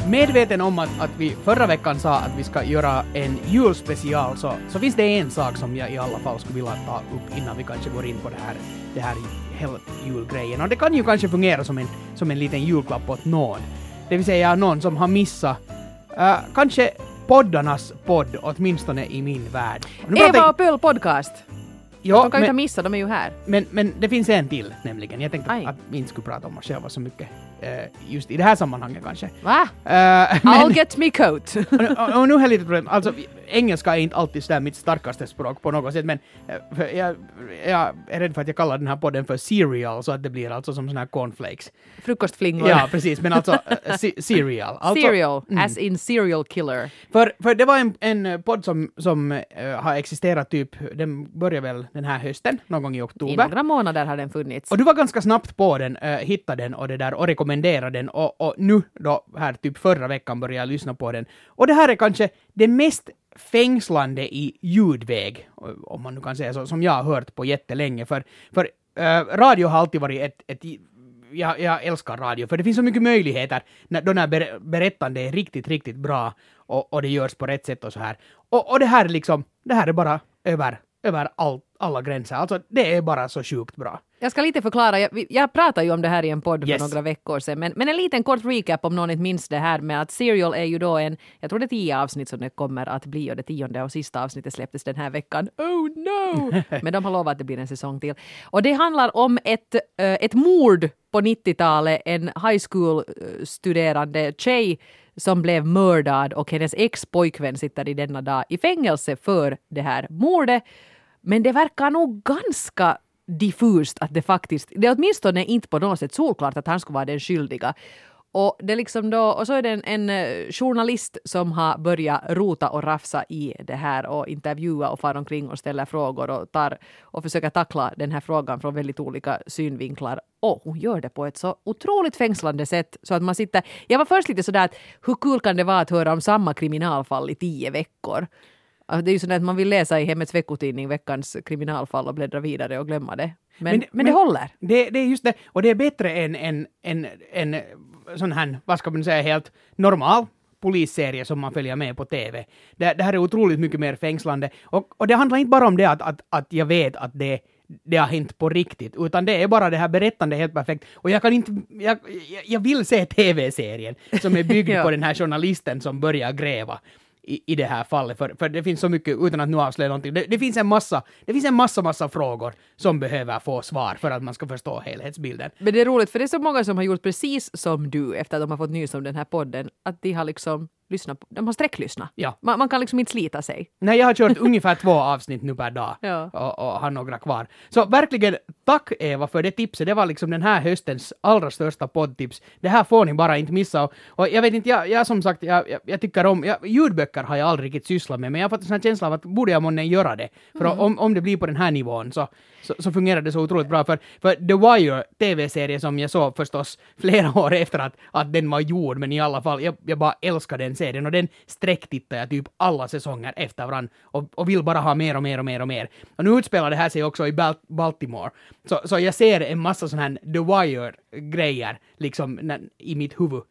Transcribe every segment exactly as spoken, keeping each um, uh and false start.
Medveten om att, att vi förra veckan sa att vi ska göra en julspecial så, så finns det en sak som jag i alla fall skulle vilja ta upp innan vi kanske går in på det här, det här hela julgrejen. Och det kan ju kanske fungera som en, som en liten julklapp åt någon. Det vill säga någon som har missat uh, kanske poddarnas podd, åtminstone i min värld. Eva och Pöl podcast. Ja, de kan men, ju inte missa, de är ju här. Men, men det finns en till nämligen. Jag tänkte Aj. att vi inte skulle prata om oss själva så mycket uh, just i det här sammanhanget kanske. Va? Uh, men, I'll get me coat. och, och, och nu har jag lite problem. Alltså, engelska är inte alltid sådär mitt starkaste språk på något sätt, men uh, jag, jag är rädd för att jag kallar den här podden för cereal, så att det blir alltså som såna här cornflakes. Frukostflingor. Ja, precis, men alltså uh, c- cereal. Alltså, cereal, mm. as in serial killer. För, för det var en, en podd som, som uh, har existerat typ, den började väl den här hösten, någon gång i oktober. I några månader har den funnits. Och du var ganska snabbt på den, uh, hittade den och det där och rekommenderade den och, och nu då här typ förra veckan började jag lyssna på den. Och det här är kanske det mest fängslande i ljudväg, om man nu kan säga så, som jag har hört på jättelänge. För, för uh, radio har alltid varit ett, ett jag, jag älskar radio, för det finns så mycket möjligheter när, då när ber, berättande är riktigt, riktigt bra och, och det görs på rätt sätt och så här. Och, och det här liksom, det här är bara över, över all, alla gränser. Alltså det är bara så sjukt bra. Jag ska lite förklara, jag, jag pratade ju om det här i en podd yes. för några veckor sedan, men, men en liten kort recap om någon inte minns det här med att Serial är ju då en, jag tror det är tio avsnitt som det kommer att bli och det tionde och sista avsnittet släpptes den här veckan. Oh no! Men de har lovat att det blir en säsong till. Och det handlar om ett, uh, ett mord på nittiotalet, en high school-studerande tjej som blev mördad och hennes ex-pojkvän sitter i denna dag i fängelse för det här mordet. Men det verkar nog ganska diffust att det faktiskt, det är åtminstone inte på något sätt solklart att han skulle vara den skyldiga. Och det liksom då, och så är det en, en journalist som har börjat rota och rafsa i det här och intervjua och fara omkring och ställa frågor och tar och försöker tackla den här frågan från väldigt olika synvinklar. Och hon gör det på ett så otroligt fängslande sätt så att man sitter, jag var först lite sådär att hur kul kan det vara att höra om samma kriminalfall i tio veckor? Det är ju så att man vill läsa i Hemmets veckotidning veckans kriminalfall och bläddra vidare och glömma det. Men, men, men det håller. Det, det är just det. Och det är bättre än en, en, en, en sån här, vad ska man säga, helt normal polisserie som man följer med på T V. Det, det här är otroligt mycket mer fängslande. Och, och det handlar inte bara om det att, att, att jag vet att det, det har hänt på riktigt, utan det är bara det här berättande helt perfekt. Och jag kan inte, jag, jag vill se T V-serien som är byggd ja. på den här journalisten som börjar gräva. I, i det här fallet, för, för det finns så mycket, utan att nu avslöja någonting, det, det finns en massa det finns en massa, massa frågor som behöver få svar för att man ska förstå helhetsbilden. Men det är roligt, för det är så många som har gjort precis som du efter att de har fått nys om den här podden, att de har liksom lyssnat på, de har sträcklyssnat. Ja. Man, man kan liksom inte slita sig. Nej, jag har kört ungefär två avsnitt nu per dag ja. och, och har några kvar. Så verkligen, tack Eva för det tipset. Det var liksom den här höstens allra största poddtips. Det här får ni bara inte missa. Och, och jag vet inte, jag, jag som sagt, jag, jag, jag tycker om, jag, ljudböcker har jag aldrig riktigt sysslat med, men jag har fått en sån här känsla av att borde jag månne göra det. För mm. om, om det blir på den här nivån så, så, så fungerar det så otroligt bra. För, för The Wire, T V-serie som jag såg förstås flera år efter att, att den var gjord, men i alla fall, jag, jag bara älskar den serien och den sträcktittar jag typ alla säsonger efter varandra och, och vill bara ha mer och mer och mer och mer. Och nu utspelar det här sig också i Bal- Baltimore. Så, så jag ser en massa sån här The Wire-grejer liksom när, i mitt huvud.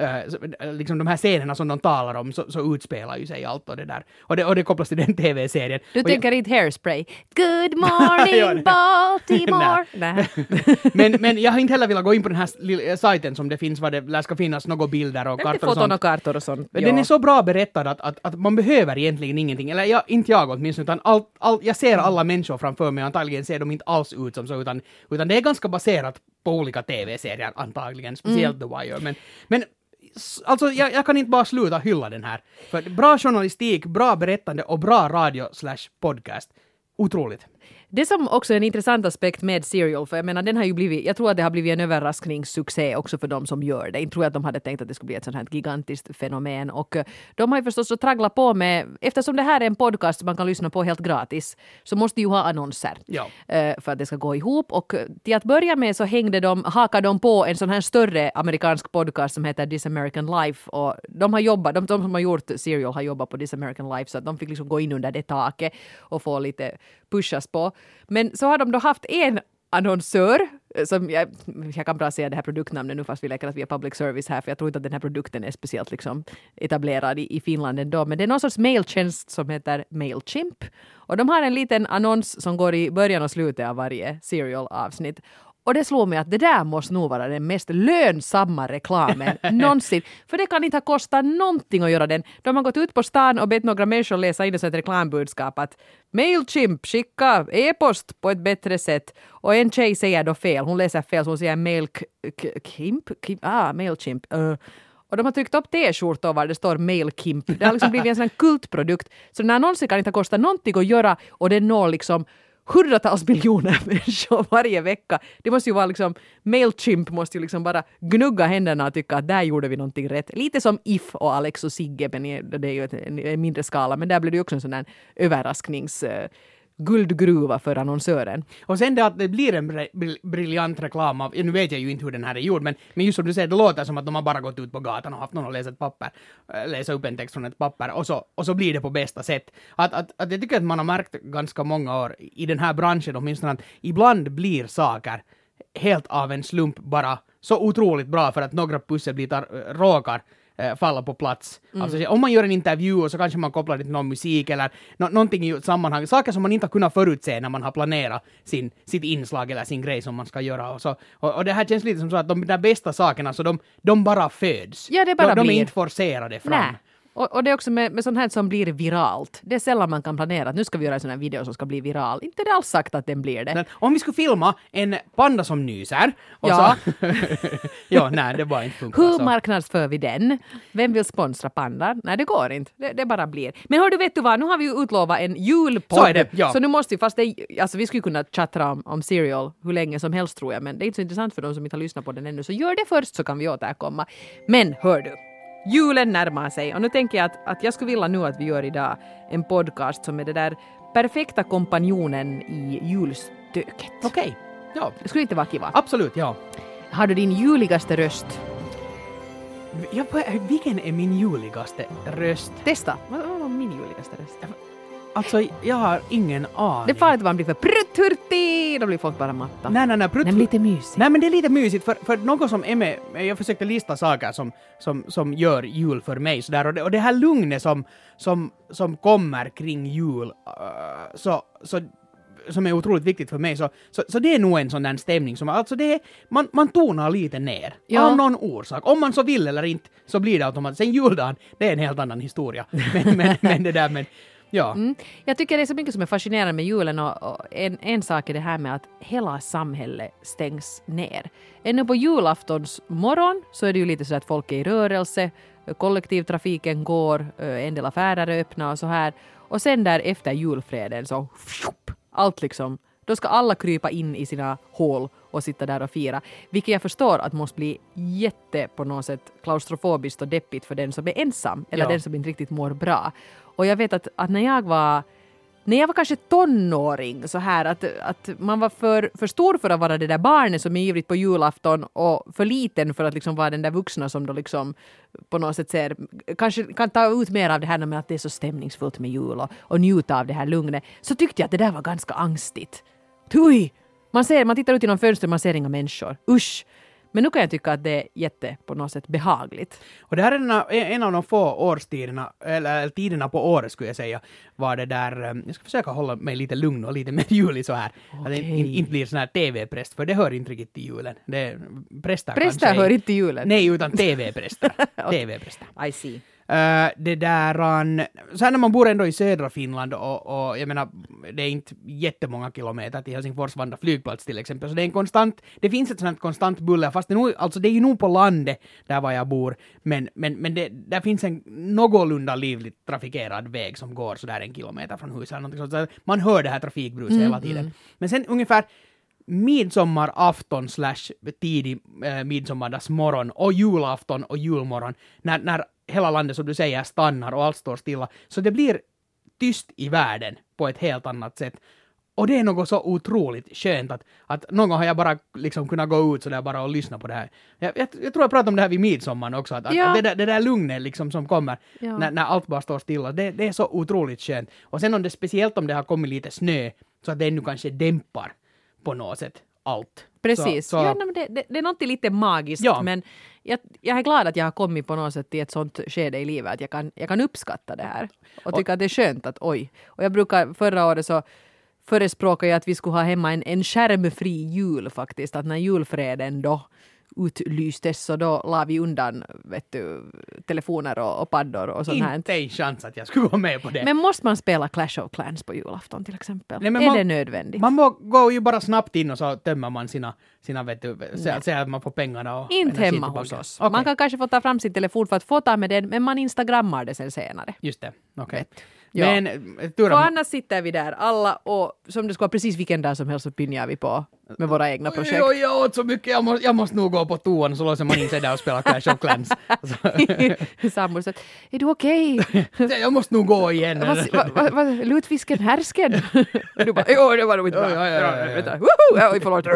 Uh, liksom de här scenerna som de talar om så, så utspelar ju sig allt och det där. Och det, och det kopplas till den T V-serien. Du och tänker jag... inte Hairspray. Good morning Baltimore. men, men jag har inte heller velat gå in på den här lilla sajten som det finns, vad det lär ska finnas några bilder och kartor och sånt. Och kartor och sånt. Den är så bra berättad att, att, att man behöver egentligen ingenting. Eller jag, inte jag åtminstone, utan all, all, jag ser alla människor framför mig och antagligen ser de inte alls ut som så, utan, utan det är ganska baserat på olika T V-serier antagligen, speciellt mm. The Wire. Men, men alltså jag, jag kan inte bara sluta hylla den här. För bra journalistik, bra berättande och bra radio slash podcast. Otroligt. Det som också är en intressant aspekt med Serial, för jag menar den har ju blivit, jag tror att det har blivit en överraskningssuccé också för de som gör det. Jag tror att de hade tänkt att det skulle bli ett sånt här gigantiskt fenomen och de har ju förstås att traggla på med, eftersom det här är en podcast som man kan lyssna på helt gratis, så måste ju ha annonser ja. för att det ska gå ihop och till att börja med så hängde de, hakade de på en sån här större amerikansk podcast som heter This American Life och de har jobbat, de, de som har gjort Serial har jobbat på This American Life så att de fick liksom gå in under det taket och få lite pushas på. Men så har de då haft en annonsör som jag, jag kan bra säga det här produktnamnet nu fast vi leker att vi är public service här för jag tror inte att den här produkten är speciellt liksom etablerad i, i Finland ändå. Men det är någon sorts mailtjänst som heter Mailchimp. Och de har en liten annons som går i början och slutet av varje serial-avsnitt. Och det slår mig att det där måste nog vara den mest lönsamma reklamen någonsin. För det kan inte ha kostat någonting att göra den. De har gått ut på stan och bett några människor läsa in det som ett reklambudskap att Mailchimp, skicka e-post på ett bättre sätt. Och en tjej säger då fel. Hon läser fel så hon säger Mailchimp. Ah, Mailchimp. Uh. Och de har tryckt upp t-skjortor var det står Mailchimp. Det har liksom blivit en sån här kultprodukt. Så den här annonsen kan inte ha kostat någonting att göra och den når liksom hundratals miljoner människor varje vecka. Det måste ju vara liksom, Mailchimp måste ju liksom bara gnugga händerna och tycka att där gjorde vi någonting rätt. Lite som If och Alex och Sigge, men det är ju ett, en mindre skala. Men där blir det ju också en sån där överrasknings... guldgruva för annonsören. Och sen det att det blir en br- briljant reklam av, nu vet jag ju inte hur den här är gjord, men, men just som du säger, det låter som att de har bara gått ut på gatan och haft någon att läsa ett papper, läsa upp en text från ett papper och så, och så blir det på bästa sätt. Att, att, att jag tycker att man har märkt ganska många år i den här branschen åtminstone att ibland blir saker helt av en slump bara så otroligt bra för att några pusselbitar råkar falla på plats. Mm. Alltså, om man gör en intervju och så kanske man kopplar det till någon musik eller no- någonting i sammanhang. Saker som man inte har kunnat förutse när man har planerat sin, sitt inslag eller sin grej som man ska göra. Och, så, och, och det här känns lite som så att de där bästa sakerna så de, de bara föds. Ja, det bara de, de blir. är inte forcerade fram. Nej. Och, och det är också med, med sånt här som blir viralt. Det är sällan man kan planera att nu ska vi göra en sån här video som ska bli viral. Inte det alls sagt att den blir det. Men om vi skulle filma en panda som nyser och ja. så... ja, nej, det bara inte funkar. Hur så. marknadsför vi den? Vem vill sponsra pandar? Nej, det går inte. Det, det bara blir. Men hör du, vet du vad? Nu har vi ju utlovat en julpodd. Så är det, ja. Så nu måste vi, fast det, alltså vi skulle kunna chatta om, om Serial hur länge som helst tror jag, men det är inte så intressant för de som inte har lyssnat på den ännu. Så gör det först så kan vi återkomma. Men hör du, julen närmar sig och nu tänker jag att, att jag skulle vilja nu att vi gör idag en podcast som är det där perfekta kompanjonen i julstöket. Okej, okay. Ja. Det skulle inte vara kiva. Absolut, ja. Har du din juligaste röst? Ja, vilken är min juligaste röst? Testa. Vad var min juligaste röst? Alltså, jag har ingen aning. Det är farligt att man blir för prutthurtig. Då blir folk bara matta. Nej, nej, nej. Prutt... Nej, men lite mysigt. Nej, men det är lite mysigt för, för något som är med... Jag försökte lista saker som, som, som gör jul för mig. Så där, och, det, och det här lugnet som, som, som kommer kring jul uh, så, så, som är otroligt viktigt för mig. Så, så, så det är nog en sån där stämning som... Alltså det är, man, man tonar lite ner. Ja. Av någon orsak. Om man så vill eller inte så blir det automatiskt. Sen juldagen, det är en helt annan historia. Men, men, men det där med... Ja. Mm. Jag tycker det är så mycket som är fascinerande med julen och, och en, en sak är det här med att hela samhället stängs ner. Ännu på julaftons morgon så är det ju lite så att folk är i rörelse, kollektivtrafiken går, en del affärer är öppna och så här. Och sen där efter julfreden så allt liksom, då ska alla krypa in i sina hål och sitta där och fira. Vilket jag förstår att måste bli jätte på något sätt klaustrofobiskt och deppigt för den som är ensam eller ja. den som inte riktigt mår bra. Och jag vet att, att när jag var när jag var kanske tonåring så här att, att man var för, för stor för att vara det där barnet som är ivrigt på julafton och för liten för att liksom vara den där vuxna som då liksom på något sätt ser, kanske kan ta ut mer av det här med att det är så stämningsfullt med jul och, och njuta av det här lugnet. Så tyckte jag att det där var ganska angstigt. Oj! Man ser, man tittar ut genom fönstret, man ser inga människor. Usch! Men nu kan jag tycka att det är jätte på något sätt behagligt. Och det här är en, en av de få årstiderna, eller tiderna på året skulle jag säga, var det där, jag ska försöka hålla mig lite lugn och lite mer julig så här. Okay. Att det inte, inte blir sån här tv-präst, för det hör inte riktigt till julen. Det, präster präster kanske hör inte till julen? Nej, utan tv-präster. tv-präster. I see. Uh, det där, um, så här när man bor ändå i södra Finland och, och jag menar, det är inte jättemånga kilometer till Helsingfors Vanda flygplats till exempel, så det är en konstant, det finns ett sånt konstant buller, fast det, nog, alltså det är ju nog på landet där var jag bor, men, men, men det, där finns en någorlunda livligt trafikerad väg som går så där en kilometer från huset, så man hör det här trafikbruset mm, hela tiden. Mm. Men sen ungefär midsommarafton slash tidig eh, midsommardagsmorgon och julafton och julmorgon, när, när hela landet som du säger stannar och allt står stilla, så det blir tyst i världen på ett helt annat sätt. Och det är något så otroligt skönt att, att någon gång har jag bara liksom kunnat gå ut så där bara och lyssna på det här. Jag, jag, jag tror jag pratade om det här vid midsommar också, att, ja. att det, där, det där lugnet liksom som kommer ja. när, när allt bara står stilla, det, det är så otroligt skönt. Och sen om det, speciellt om det har kommit lite snö, så att det ännu kanske dämpar på något sätt allt. Precis. Så, så, ja, men det, det, det är något lite magiskt, ja. men jag, jag är glad att jag har kommit på något sätt till ett sånt skede i livet att jag kan, jag kan uppskatta det här och tycka och, att det är skönt att oj. Och jag brukar, förra året så förespråkade jag att vi skulle ha hemma en, en skärmfri jul faktiskt, att när julfreden då utlystes så då la vi undan vet du, telefoner och, och paddor och sånt här. Inte en chans att jag skulle gå med på det. Men måste man spela Clash of Clans på julafton till exempel? Nej, är man, det nödvändigt? Man må gå ju bara snabbt in och så tömmer man sina, sina vet du, så, så att man får pengarna och inte hemma hos oss. Okay. Man kan kanske få ta fram sin telefon för att fota med den, men man instagrammar det sen senare. Just det, okej. Okay. Ja. Men Tura, för annars sitter vi där alla och som det ska vara precis vilken dag som helst så pinjar vi på med våra egna projekt. Jo, jag åt så mycket, jag måste, jag måste nog gå på toan så låser man in sig där och spela Clash of Clans. Sambor så är du okej? Okay? Jag måste nog gå igen. Vad va, va, lutfisken härsken? Du bara, jo det var nog inte bra. Ja, ja, ja, ja. Vänta, woho! Oj, förlåt.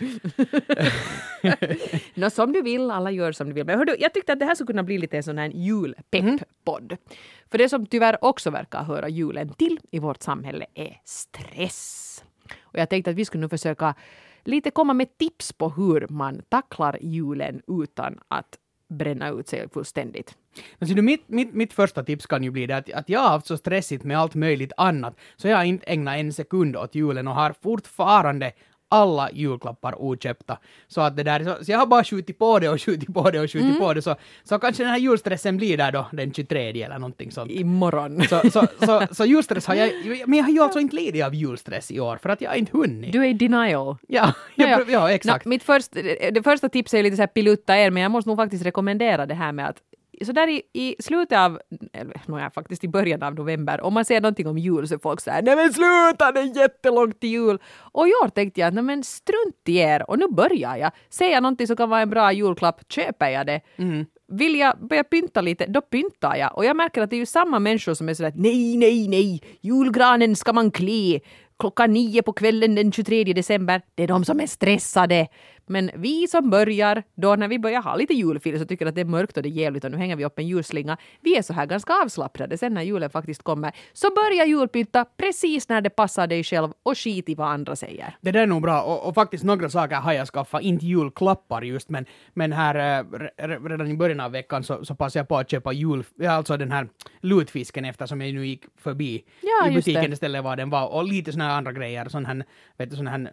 Nå, som du vill, alla gör som du vill. Men hördu, jag tyckte att det här skulle kunna bli lite en sån här julpepp-podd. Mm. För det som tyvärr också verkar höra julen till i vårt samhälle är stress. Och jag tänkte att vi skulle nu försöka lite komma med tips på hur man tacklar julen utan att bränna ut sig fullständigt. Alltså, mitt, mitt, mitt första tips kan ju bli det att, att jag har haft så stressigt med allt möjligt annat så jag har inte ägnat en sekund åt julen och har fortfarande alla julklappar oköpta. Så att det där, så, så jag har bara skjutit på det och skjutit på det och skjutit mm. på det. Så, så kanske den här julstressen blir där då den tjugotredje eller någonting sånt. Imorgon. Så, så, så, så julstress har jag, men jag har ju alltså inte lidit av julstress i år för att jag har inte hunnit. Du är i denial. Ja, jag, ja, ja. ja exakt. No, mitt först, det första tipset är lite så här pilutta er, men jag måste nog faktiskt rekommendera det här med att så där i, i slutet av, eller no, ja, faktiskt i början av november, om man ser någonting om jul så folk säger nej men sluta, det är jättelångt till jul. Och i år tänkte jag, nej men strunt i er och nu börjar jag. Ser jag någonting som kan vara en bra julklapp, köper jag det. Mm. Vill jag börja pynta lite, då pyntar jag. Och jag märker att det är ju samma människor som är sådär, nej, nej, nej, julgranen ska man klä klockan nio på kvällen den tjugotredje december. Det är de som är stressade. Men vi som börjar, då när vi börjar ha lite julfil så tycker att det är mörkt och det är jävligt och nu hänger vi upp en julslinga. Vi är så här ganska avslappnade sen när julen faktiskt kommer. Så börja julpynta precis när det passar dig själv och skit i vad andra säger. Det där är nog bra och, och faktiskt några saker har jag skaffat, inte julklappar just men, men här äh, redan i början av veckan så, så passade jag på att köpa jul, alltså den här lutfisken eftersom jag nu gick förbi ja, i butiken istället var den var och lite såna här andra grejer, sån här, vet du, sån här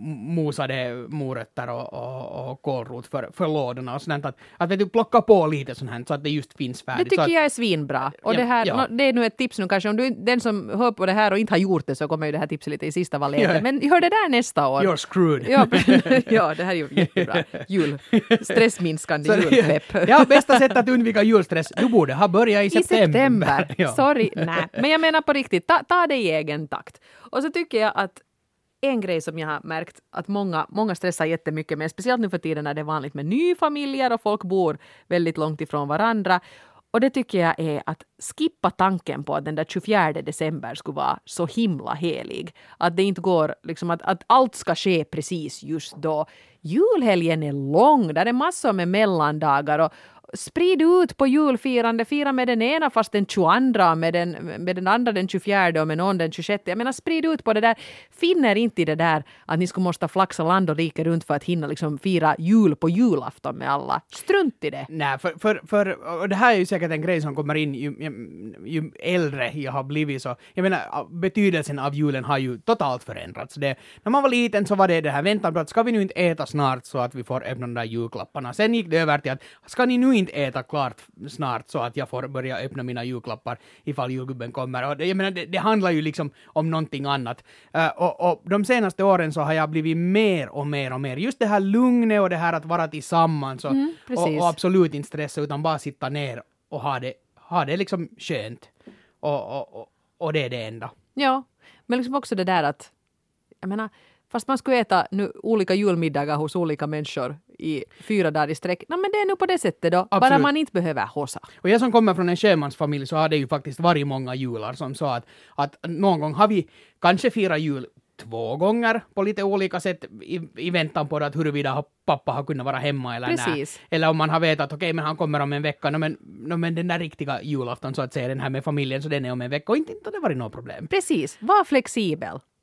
mosade morötter och Och, och kålrot för, för lådorna och sånt att, att vet du, plocka på lite sånt här så att det just finns färdigt. Det tycker så att, jag är svinbra. Och ja, det, här, ja. no, det är nu ett tips nu kanske. Om du, den som hör på det här och inte har gjort det så kommer ju det här tipset lite i sista valet. Ja. Men hör det där nästa år. You're screwed. Ja, ja det här är ju jättebra. Jul. Stressminskande så, julpepp. Ja, bästa sättet att undvika julstress. Du borde ha börjat i september. I september. Ja. Sorry, nej. Men jag menar på riktigt, ta, ta det i egen takt. Och så tycker jag att en grej som jag har märkt att många, många stressar jättemycket med, speciellt nu för tiden när det är vanligt med nyfamiljer och folk bor väldigt långt ifrån varandra. Och det tycker jag är att skippa tanken på att den där tjugofjärde december skulle vara så himla helig. Att det inte går, liksom att, att allt ska ske precis just då. Julhelgen är lång, där är massor med mellandagar och sprid ut på julfirande, fira med den ena fast den tjugoandra, med den, med den andra den tjugofjärde och med någon den tjugosjätte. Jag menar sprid ut på det där. Finner inte i det där att ni skulle måste flaxa land och rike runt för att hinna liksom fira jul på julafton med alla. Strunt i det. Nej, för, för, för och det här är ju säkert en grej som kommer in ju, ju, ju äldre jag har blivit så. Jag menar, betydelsen av julen har ju totalt förändrats. Det, när man var liten så var det det här väntan på att ska vi nu inte äta snart så att vi får öppna de där julklapparna. Sen gick det över till att ska ni nu inte äta klart snart så att jag får börja öppna mina julklappar ifall julgubben kommer. Och det, jag menar, det, det handlar ju liksom om någonting annat. Uh, och, och de senaste åren så har jag blivit mer och mer och mer. Just det här lugnet och det här att vara tillsammans och, mm, och, och absolut inte stressa utan bara sitta ner och ha det, ha det liksom skönt. Och, och, och, och det är det enda. Ja, men liksom också det där att jag menar, fast man skulle äta nu olika julmiddagar hos olika människor i fyra dagar i sträck. No, men det är nu på det sättet då. Absolut. Bara man inte behöver hossa. Och jag som kommer från en sjömansfamilj så har det ju faktiskt varit många jular som sa att, att någon gång har vi kanske firat jul två gånger på lite olika sätt i, i väntan på att huruvida pappa har kunnat vara hemma eller nej. Eller om man har vetat att okej, okay, men han kommer om en vecka. No, men, no, men den där riktiga julafton så att säga, den här med familjen, så den är om en vecka och inte, inte det varit något problem. Precis, var flexibel.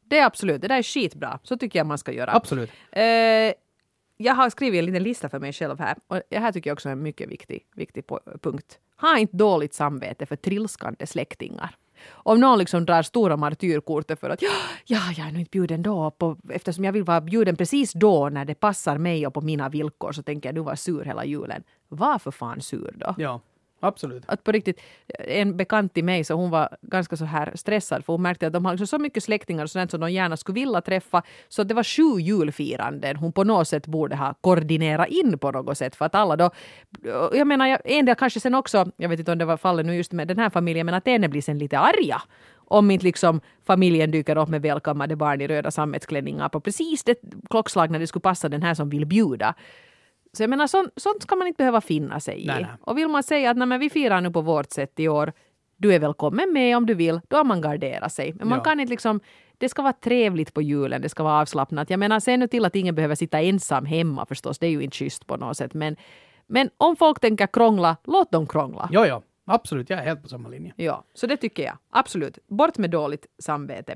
det är absolut. Det där är skitbra. Så tycker jag man ska göra. Absolut. Eh, jag har skrivit en liten lista för mig själv här. Och det här tycker jag också är en mycket viktig, viktig punkt. Ha inte dåligt samvete för trilskande släktingar. Om någon liksom drar stora martyrkortet för att ja, ja, jag är nog inte bjuden då. På, eftersom jag vill vara bjuden precis då när det passar mig och på mina villkor så tänker jag du var sur hela julen. Var för fan sur då? Ja. Absolut. Att på riktigt, en bekant till mig så hon var ganska så här stressad för hon märkte att de har liksom så mycket släktingar och sånt som de gärna skulle vilja träffa så det var sju julfiranden hon på något sätt borde ha koordinerat in på något sätt för att alla då, jag menar en del kanske sen också, jag vet inte om det var fallet nu just med den här familjen men att en blir sen lite arga om inte liksom familjen dyker upp med välkammade barn i röda sammetsklänningar på precis det klockslag när det skulle passa den här som vill bjuda. Så jag menar, sånt, sånt ska man inte behöva finna sig i. Nej, nej. Och vill man säga att nej, men vi firar nu på vårt sätt i år, du är välkommen med om du vill, då har man garderat sig. Men man Ja. kan inte liksom, det ska vara trevligt på julen, det ska vara avslappnat. Jag menar, sen nu till att ingen behöver sitta ensam hemma förstås, det är ju inte schysst på något sätt. Men, men om folk tänker krångla, låt dem krångla. Jo, jo. Absolut, jag är helt på samma linje. Ja, så det tycker jag. Absolut. Bort med dåligt samvete.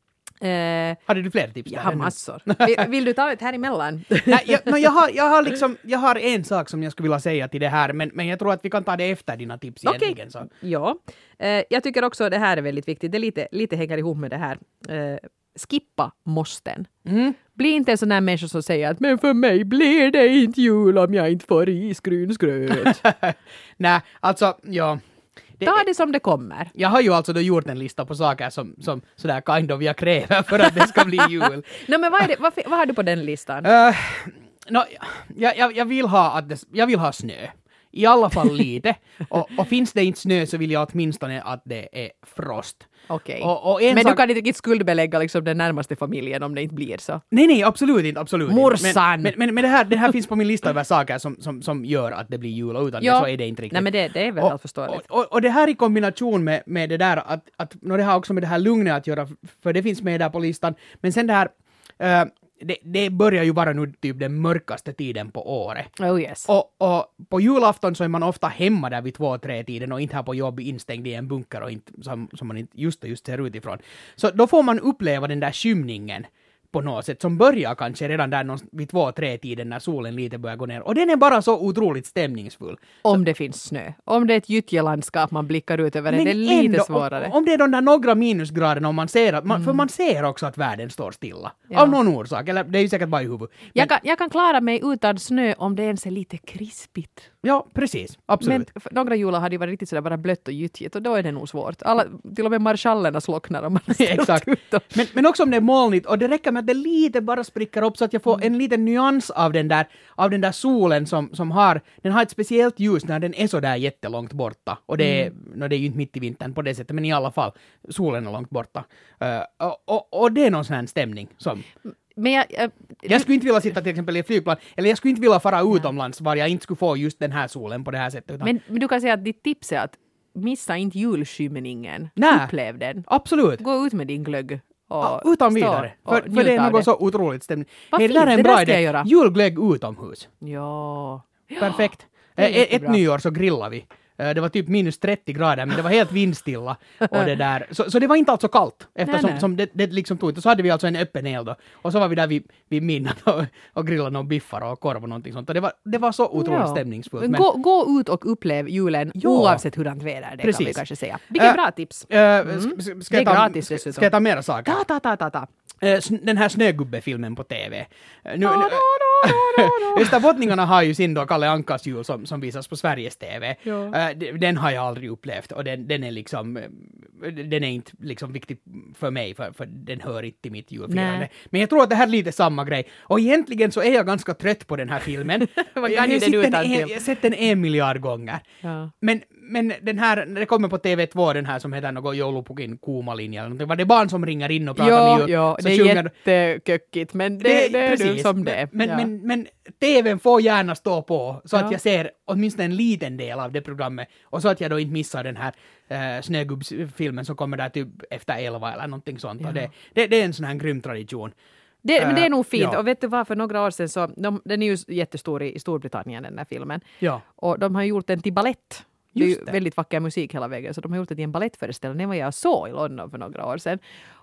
Eh, Hade du fler tips? jag där har ännu? massor. Vill, vill du ta ett här emellan? Nej, jag, no, jag, har, jag, har liksom, jag har en sak som jag skulle vilja säga till det här, men, men jag tror att vi kan ta det efter dina tips Okej. egentligen. Så. Ja. Eh, jag tycker också det här är väldigt viktigt. Det lite, lite hänger ihop med det här. Eh, skippa måsten. Mm. Bli inte en sån där människa som säger att men för mig blir det inte jul om jag inte får risgrynsgröt. Nej, alltså, ja. Det, Ta det som det kommer. jag har ju alltså då gjort en lista på saker som, som sådär kind of jag kräver för att det ska bli jul. No, men vad, är det, vad, vad har du på den listan? Uh, no, jag, jag, jag, vill ha att det, jag vill ha snö. I alla fall lite. Och, och finns det inte snö så vill jag åtminstone att det är frost. Okej. Och, och en Men sak, du kan inte riktigt skuldbelägga liksom den närmaste familjen om det inte blir så. Nej, nej, absolut inte, absolut inte. Morsan! Men, men, men det, här, det här finns på min lista över saker som, som, som gör att det blir jul och utan Ja. det så är det inte riktigt. Nej, men det, det är väl och, allt förståeligt. och, och, och det här i kombination med, med det där att, att no, det har också med det här lugnet att göra, för det finns med där på listan. Men sen det här, uh, det, det börjar ju vara nu typ den mörkaste tiden på året. Oh yes. Och, och på julafton så är man ofta hemma där vid två, tre tiden och inte här på jobb instängd i en bunker och inte, som, som man inte just och just ser utifrån. Så då får man uppleva den där skymningen på något sätt som börjar kanske redan där någon, vid två, tre tiden när solen lite börjar gå ner. Och den är bara så otroligt stämningsfull. Om det finns snö. Om det är ett gyttjelandskap man blickar ut över det, det är lite ändå, svårare. Om, om det är de där några minusgraderna och man ser att, man, mm. för man ser också att världen står stilla. Ja. Av någon orsak, eller det är ju säkert bara i huvudet. Men, Jag kan, jag kan klara mig utan snö om det ens är lite krispigt. ja, precis. Absolut. Men för några jular hade det varit riktigt sådär bara blött och gyttjigt och då är det nog svårt. Alla, till och med marschallerna slocknar om man har ställt Exakt. ut dem. Men, men också om det är molnigt och det räcker med att det lite bara spricker upp så att jag får en liten nyans av den där, av den där solen som, som har, den har ett speciellt ljus när den är så där jättelångt borta. Och det är, mm. no, det är ju inte mitt i vintern på det sättet, men i alla fall, solen är långt borta. Uh, och, och, och det är någon sån här stämning som... Men jag, jag, Jag skulle inte vilja sitta till exempel i ett flygplan, eller jag skulle inte vilja fara utomlands var jag inte skulle få just den här solen på det här sättet. Utan... men, men du kan säga att ditt tips är att missa inte julskymningen. Nä. Upplev den. Absolut. Gå ut med din glögg. Och Ja, utan vidare. stå För, och för det är njuta av något så otroligt stämning. Vad Hey, det där fint, är en det bra där ska jag idé. göra. Julglögg utomhus. Ja. Perfekt. det är Eh, Ett jättebra. nyår så grillade vi. Eh, Det var typ minus trettio grader, men det var helt vindstilla. Och det där. Så, så det var inte alls så kallt, eftersom Nej, nej. som det, det liksom tog. Och så hade vi alltså en öppen eld då. Och så var vi där vid, vid midnatt och, och grillade någon biffar och korv och någonting sånt. Och det var, det var så otroligt Ja. stämningsfullt. Men Men, gå, gå ut och upplev julen Ja. oavsett hurdant väder det Precis. kan vi kanske säga. Vilken Äh, bra tips. eh, sk- sk- ska Det är jag ta- gratis ska- dessutom. Ska jag ta mera saker? Ta, ta, ta, ta, ta. Eh, sn- Den här Snögubbe-filmen på T V. Eh, Nu, nu, Österbottningarna har ju sin då Kalle Ankas jul som, som visas på Sveriges T V. Ja. Eh, d- Den har jag aldrig upplevt och den, den är liksom eh, den är inte liksom viktig för mig för, för den hör inte till mitt julfirande. Nej. Men jag tror att det här är lite samma grej. Och egentligen så är jag ganska trött på den här filmen. Man jag kan ju har den sett den utan en, till. jag har sett den en miljard gånger. Ja. Men, men den här, när det kommer på T V två, den här som heter något Joulupukin kuumalinja eller någonting, var det barn som ringer in och pratar Ja, med jul? ja, så det är sjunger- jätteköckigt, men det, det, är nu som det är. men, Ja. men, men T V:n får gärna stå på så Ja. att jag ser åtminstone en liten del av det programmet och så att jag då inte missar den här uh, Snögubbsfilmen som kommer där typ efter elva eller någonting sånt. Ja. Och det, det, det är en sån här grym tradition. Det, men det är nog fint. Ja. Och vet du vad, för några år sedan så, de, den är ju jättestor i, i Storbritannien den här filmen. Ja. Och de har gjort den till ballett. Det är Just ju det. väldigt vacker musik hela vägen, så de har gjort det till en ballettföreställning. Den var jag så i London för några år sedan.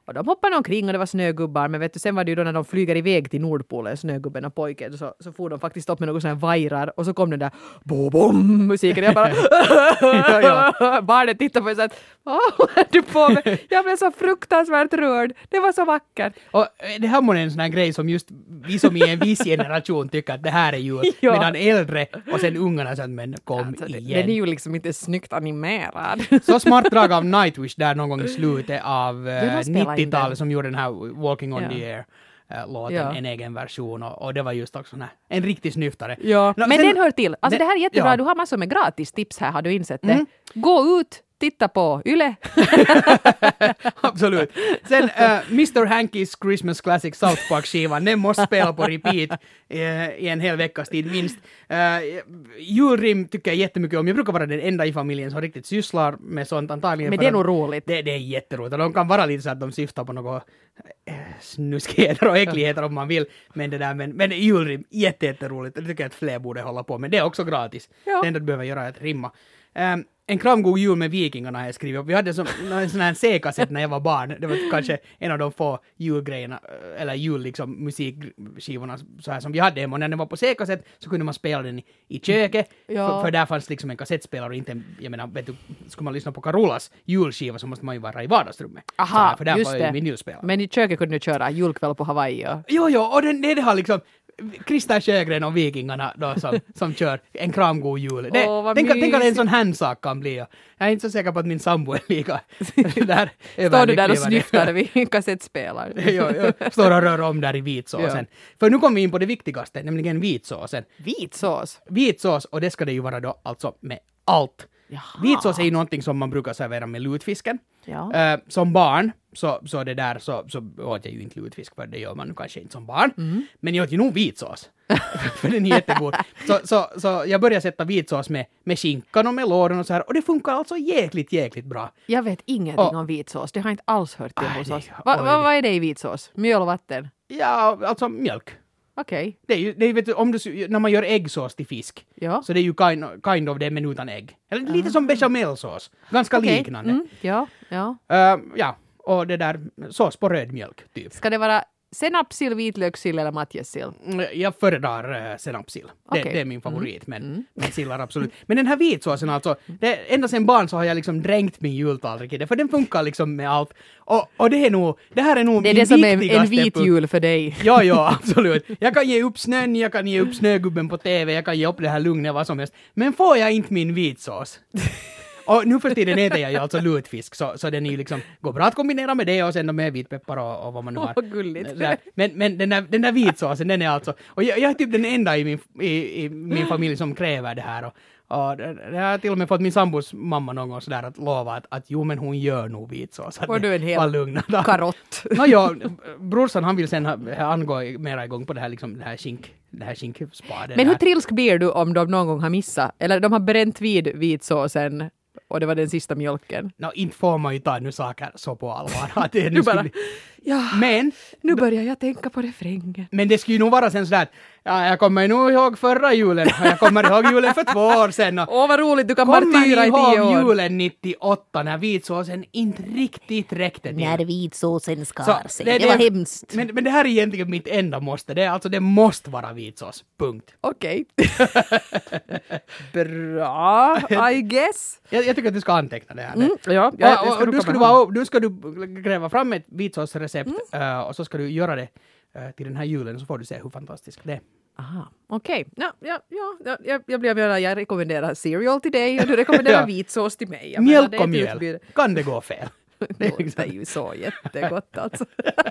Och de hoppade omkring och det var snögubbar. Men vet du, sen var det ju då när de flyger iväg till Nordpolen, snögubben och pojken, så, så får de faktiskt upp med något sådana här vajrar. Och så kom den där bo-bom musiken. Jag bara... ja, ja. Barnet tittade på mig så att vad håller du på med? Jag blev så fruktansvärt rörd. Det var så vackert. Och det här var en sån här grej som just vi som i en viss generation tycker att det här är jul. Ja. Medan äldre och sen ungarna så att men kom alltså, igen. Den är ju liksom inte snyggt animerad. Så smart drag av Nightwish där någon gång i slutet av uh, nittiotalet som gjorde den här Walking on ja. the Air. Låten, ja. en egen version och, och det var just också här, en riktig snyftare. Ja. No, men sen, den hör till. Alltså den, det här är jättebra. Ja. Du har massor med gratis tips här, har du insett det? Mm. Gå ut, titta på Yle. Absolut. Sen uh, mister Hankys Christmas Classic South Park-skivan, den måste spela på repeat uh, i en hel veckas tid minst. Uh, julrim tycker jag jättemycket om. Jag brukar vara den enda i familjen som riktigt sysslar med sånt antagligen. Men det är nog roligt. Det, det är jätteroligt. De kan vara lite så att de syftar på något uh, snuskigheter och äckligheter om man vill. Men det där, men, men julrim, jätte, jätteroligt. Det tycker jag att fler borde hålla på med. Det är också gratis. Ja. Det enda du behöver göra är att rimma. Um, En kramgod jul med vikingarna har jag skrivit upp. Vi hade som, en sån här C-kassett när jag var barn. Det var kanske en av de få julgrejerna, eller jul liksom, musikskivorna så här som vi hade hemma. Och när den var på C-kassett så kunde man spela den i, i köket. Ja. För, för där fanns liksom en kassettspelare och inte, jag menar, vet du, skulle man lyssna på Carolas julskiva så måste man ju vara i vardagsrummet. Aha, här, för där just var det. Ju min julspelare. Men i köket kunde du köra julkväll på Hawaii. Och... Jo, jo, och den, det, det har liksom... Christer Sjögren och vikingarna då som, som kör en kramgod jul. Det, oh, tänk, tänk att en sån handsak kan bli. Jag är inte så säker på att min sambo är lika där. Står du där och snyftar vid kassettspelare? jo, jo, står och rör om där i vitsåsen. Ja. För nu kommer vi in på det viktigaste, nämligen vitsåsen. Vitsås? Vitsås, och det ska det ju vara då alltså med allt. Jaha. Vitsås är ju någonting som man brukar servera med lutfisken. Ja. Uh, som barn så, så det där så, så åt jag ju inte lutfisk, för det gör man kanske inte som barn. Mm. Men jag åt ju nog vitsås. För den är jättegod. Så, så, så jag började sätta vitsås med, med skinkan och med låren och så här. Och det funkar alltså jäkligt, jäkligt bra. Jag vet ingenting och, om vitsås. Det har jag inte alls hört till hos oss. Vad va, va är det i vitsås? Mjöl och vatten? Ja, alltså mjölk. Okej. Okay. Det är ju, det är, vet du, om du, när man gör äggsås till fisk, ja. Så det är ju kind, kind of det, men utan ägg. Eller lite uh. som bechamelsås. Ganska okay. liknande. Mm. Ja, ja. Uh, ja, och det där, sås på röd mjölk, typ. Ska det vara senapssill, vitlökssill eller matjessill? Jag föredrar uh, senapssill. Okay. Det, det är min favorit, mm. men, mm. men sillar absolut. Men den här vitsåsen alltså, det, ända sedan barn så har jag liksom dränkt min jultallrik i det, för den funkar liksom med allt. Och, och det är nog, det här är nog det är min det som viktigaste... är en vit jul för dig. Ja, ja, absolut. Jag kan ge upp snön, jag kan ge upp snögubben på T V, jag kan ge upp det här lugnet, vad som helst. Men får jag inte min vitsås? Och nu för tiden äter jag ju alltså lutfisk, så, så den är ju liksom, går bra att kombinera med det och sen med vitpeppar och, och vad man nu har. Åh, gulligt. Men, men den, där, den där vitsåsen, den är alltså, och jag, jag är typ den enda i min, i, i min familj som kräver det här. Och, och det, det har till och med fått min sambos mamma någon gång sådär att lova att, att jo men hon gör nog vitsås. Får du en hel karott? No, ja, brorsan han vill sen ha, angå mera igång på det här liksom, det här skink. Det här skinkspaden. Men hur trilsk blir du om de någon gång har missat? Eller de har bränt vid vitsåsen och det var den sista mjölken? No, inte får man ju ta nu saker så på allvar. Att det nu bara, bli... ja, men, nu börjar jag tänka på refrängen. Men det skulle ju nog vara sen sådär, ja, jag kommer nog ihåg förra julen och jag kommer ihåg julen för två år sedan. Åh, oh, vad roligt, du kan martyra i tio år. Kommer ihåg julen nittioåtta när vitsåsen inte riktigt räckte till. När vitsåsen skar sig. Det, det, det var hemskt. Men, men det här är egentligen mitt enda måste. Det är alltså, det måste vara vitsås. Punkt. Okej. Okay. Bra, I guess. Jag, jag tycker att du ska anteckna det här. Mm, ja, ja, och, och, och du, ska du, vara, du ska du gräva fram ett vitsåsrecept mm. uh, och så ska du göra det uh, till den här julen, så får du se hur fantastiskt det är. Aha, okej. Okay. Ja, ja, ja, jag, jag, blir, jag, jag rekommenderar cereal till dig och du rekommenderar ja. vitsås till mig. Jag mjölk och mjöl. Utbud. Kan det gå fel? Det är ju så jättegott alltså.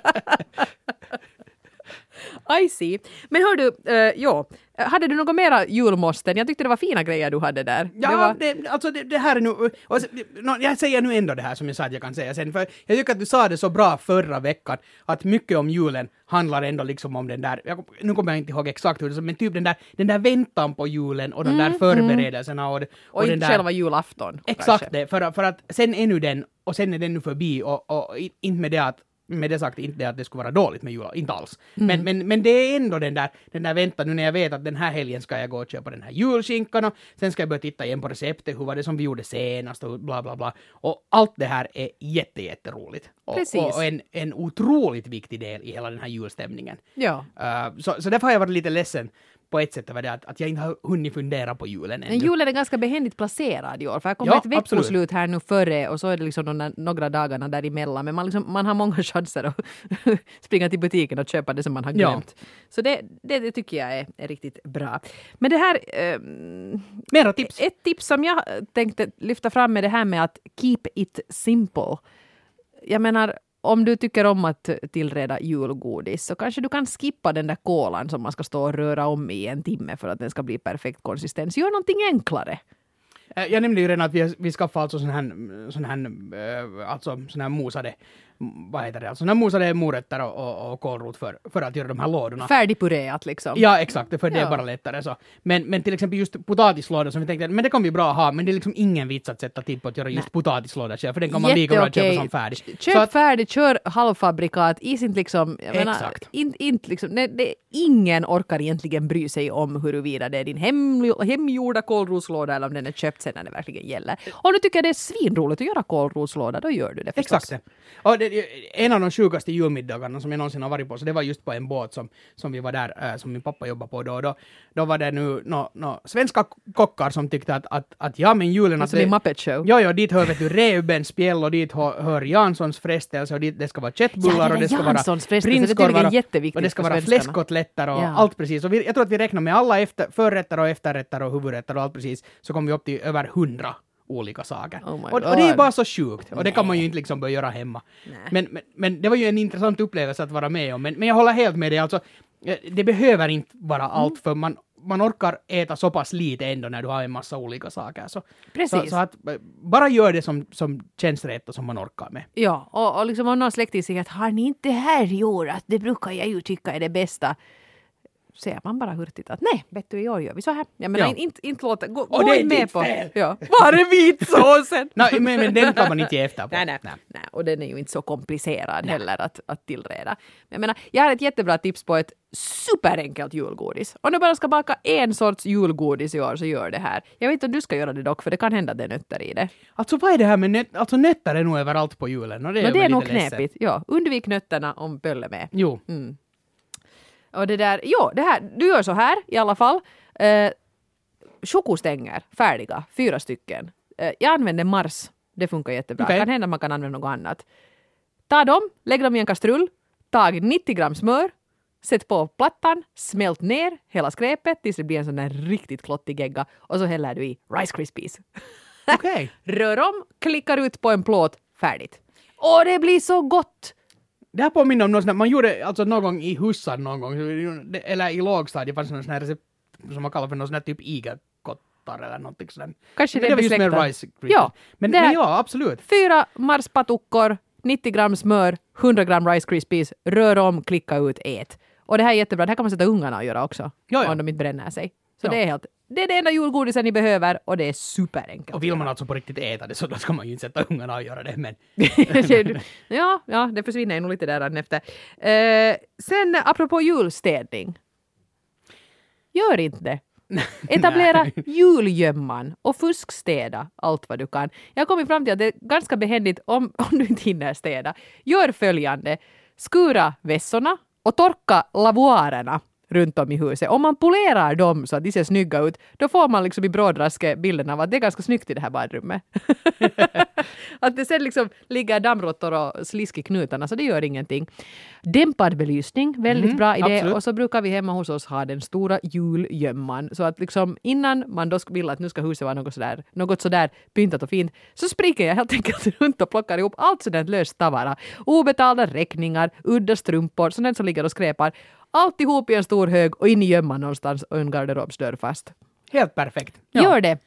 I see. Men hör du, uh, ja, hade du något mera julmåsten? Jag tyckte det var fina grejer du hade där. Ja, det, var... det, alltså det, det här är nu, och, no, jag säger nu ändå det här som jag sa att jag kan säga sen, för jag tycker att du sa det så bra förra veckan, att mycket om julen handlar ändå liksom om den där, jag, nu kommer jag inte ihåg exakt hur det är, men typ den där, den där väntan på julen och de mm, där förberedelserna. Och, och, och inte den där, själva julafton. Exakt kanske. Det, för, för att sen är nu den, och sen är den nu förbi och, och inte med det att med det sagt inte det att det skulle vara dåligt med jul, inte alls. Mm. Men, men, men det är ändå den där, den där väntan nu när jag vet att den här helgen ska jag gå och köpa den här julskinkan och sen ska jag börja titta igen på receptet, hur var det som vi gjorde senast och bla bla bla. Och allt det här är jätte, jätteroligt. Och, och, och en, en otroligt viktig del i hela den här julstämningen. Ja. Uh, så, så därför har jag varit lite ledsen på ett sätt över det att, att jag inte har hunnit fundera på julen ännu. Men julen är ganska behändigt placerad i år, för jag kommer ja, ett veckoslut här nu före och så är det liksom några, några dagarna däremellan, men man, liksom, man har många chanser att springa till butiken och köpa det som man har glömt. Ja. Så det, det, det tycker jag är, är riktigt bra. Men det här... Eh, Mera tips. Ett tips som jag tänkte lyfta fram är det här med att keep it simple. Jag menar, om du tycker om att tillreda julgodis så kanske du kan skippa den där kolan som man ska stå och röra om i en timme för att den ska bli perfekt konsistens. Gör någonting enklare. Jag nämnde ju redan att vi, vi skaffar alltså sån här, sån här, alltså sån här mosade, vad heter det, alltså sån här mosade morötter och, och, och kålrot för, för att göra de här lådorna. Färdigpureat liksom. Ja, exakt, för det ja. är bara lättare så. Men, men till exempel just potatislådor som vi tänkte, men det kan vi bra ha, men det är liksom ingen vits att sätta tid på att göra just Nej. potatislådor själv, för den kan man lika bra köpa som färdig. Köp att, färdigt, kör halvfabrikat, is inte liksom, jag menar, exakt. In, inte liksom, det, det, ingen orkar egentligen bry sig om huruvida det är din hem, hemgjorda kålrotslåda eller om den är köpt sen när det verkligen gäller. Om du tycker det är svinroligt att göra kålrotslåda, då gör du det förstås. Exakt. Och det, en av de sjukaste julmiddagarna som jag någonsin har varit på, så det var just på en båt som, som vi var där, äh, som min pappa jobbade på då. Då, då var det nu no, no, svenska kockar som tyckte att, att, att ja, men julen... Alltså det är Muppet Show. Ja, ja, dit hör vet du Reubens spjäll och dit hör, hör Janssons frestelse och dit, det ska vara köttbullar ja, och det ska vara prinskorvar och, och det ska vara fläskkotletter och ja. allt precis. Och vi, jag tror att vi räknar med alla efter, förrätter och efterrätter och huvudrätter och allt precis, så kommer vi upp till över hundra olika saker. Oh och, och det är bara så sjukt. Och det kan man ju inte liksom börja göra hemma. Men, men, men det var ju en intressant upplevelse att vara med om. Men, men jag håller helt med dig. Alltså, det behöver inte vara mm. allt, för man, man orkar äta så pass lite ändå när du har en massa olika saker. Så, Precis. Så, så att bara gör det som, som känns rätt och som man orkar med. Ja, och, och liksom om någon släkting säger att har ni inte det här i år, att det brukar jag ju tycka är det bästa. Säger man bara hurtigt att nej, vet du, i år gör vi så här. Jag menar, ja. inte, inte låta, gå, och gå det är med ditt på. fel. Ja. Var är vitsåsen? nej, men, men den kan man inte ge efter på. Nej, nej, nej. nej, och den är ju inte så komplicerad nej. heller att, att tillreda. Men jag menar, jag har ett jättebra tips på ett superenkelt julgodis. Om du bara ska baka en sorts julgodis i år så gör det här. Jag vet inte om du ska göra det dock, för det kan hända att det är nötter i det. Alltså vad är det här med nötter? Alltså nötter är nog överallt på julen. Och det är, men det är nog knepigt. Ja, undvik nötterna om bölle med. Jo. Mm. Och det där, jo, det här, du gör så här i alla fall. Eh, chokostänger, färdiga, fyra stycken. Eh, jag använder Mars, det funkar jättebra. Okay. Kan hända man kan använda något annat. Ta dem, lägg dem i en kastrull, tag nittio gram smör, sätt på plattan, smält ner hela skräpet tills det blir en sån där riktigt klottig gegga och så häller du i Rice Krispies. Okay. Rör om, klickar ut på en plåt, färdigt. Och det blir så gott! Det här påminner om något sånt, man gjorde alltså någon gång i hussar någon gång, eller i lågstadiet fanns det sån här recept som man kallar för någon sån här typ igelkottar eller någonting sådär. Kanske det, det var just med rice ja, men, men ja, absolut. Fyra marspatuckor, nittio gram smör, hundra gram Rice Krispies, rör om, klicka ut, ät. Och det här är jättebra, det här kan man sätta ungarna och göra också. Ja, ja. Om de inte bränner sig. Så ja. det är helt, det är det enda julgodisen ni behöver och det är superenkelt. Och vill man alltså på riktigt äta det så då ska man ju inte sätta ungarna och göra det, men... ja, ja, det försvinner ju nog lite där efter. Eh, sen apropå julstädning. Gör inte det. Etablera julgömman och fuskstäda allt vad du kan. Jag har kommit fram till att det är ganska behändigt om, om du inte hinner städa. Gör följande. Skura vässorna och torka lavoarerna runt om i huset. Om man polerar dem så att de ser snygga ut, då får man liksom i brådraske bilden av att det är ganska snyggt i det här badrummet. Att det sen liksom ligger dammråttor och slisk i knutarna, så det gör ingenting. Dämpad belysning, väldigt mm, bra idé. Absolut. Och så brukar vi hemma hos oss ha den stora julgömman. Så att liksom innan man då vill att nu ska huset vara något sådär, något sådär pyntat och fint, så springer jag helt enkelt runt och plockar ihop allt sådant löst tavara. Obetalda räkningar, udda strumpor, sådant som ligger och skräpar. Alltihop i en stor hög och in i gömman någonstans och en garderobsdörr fast. Helt perfekt. Ja. Gör det.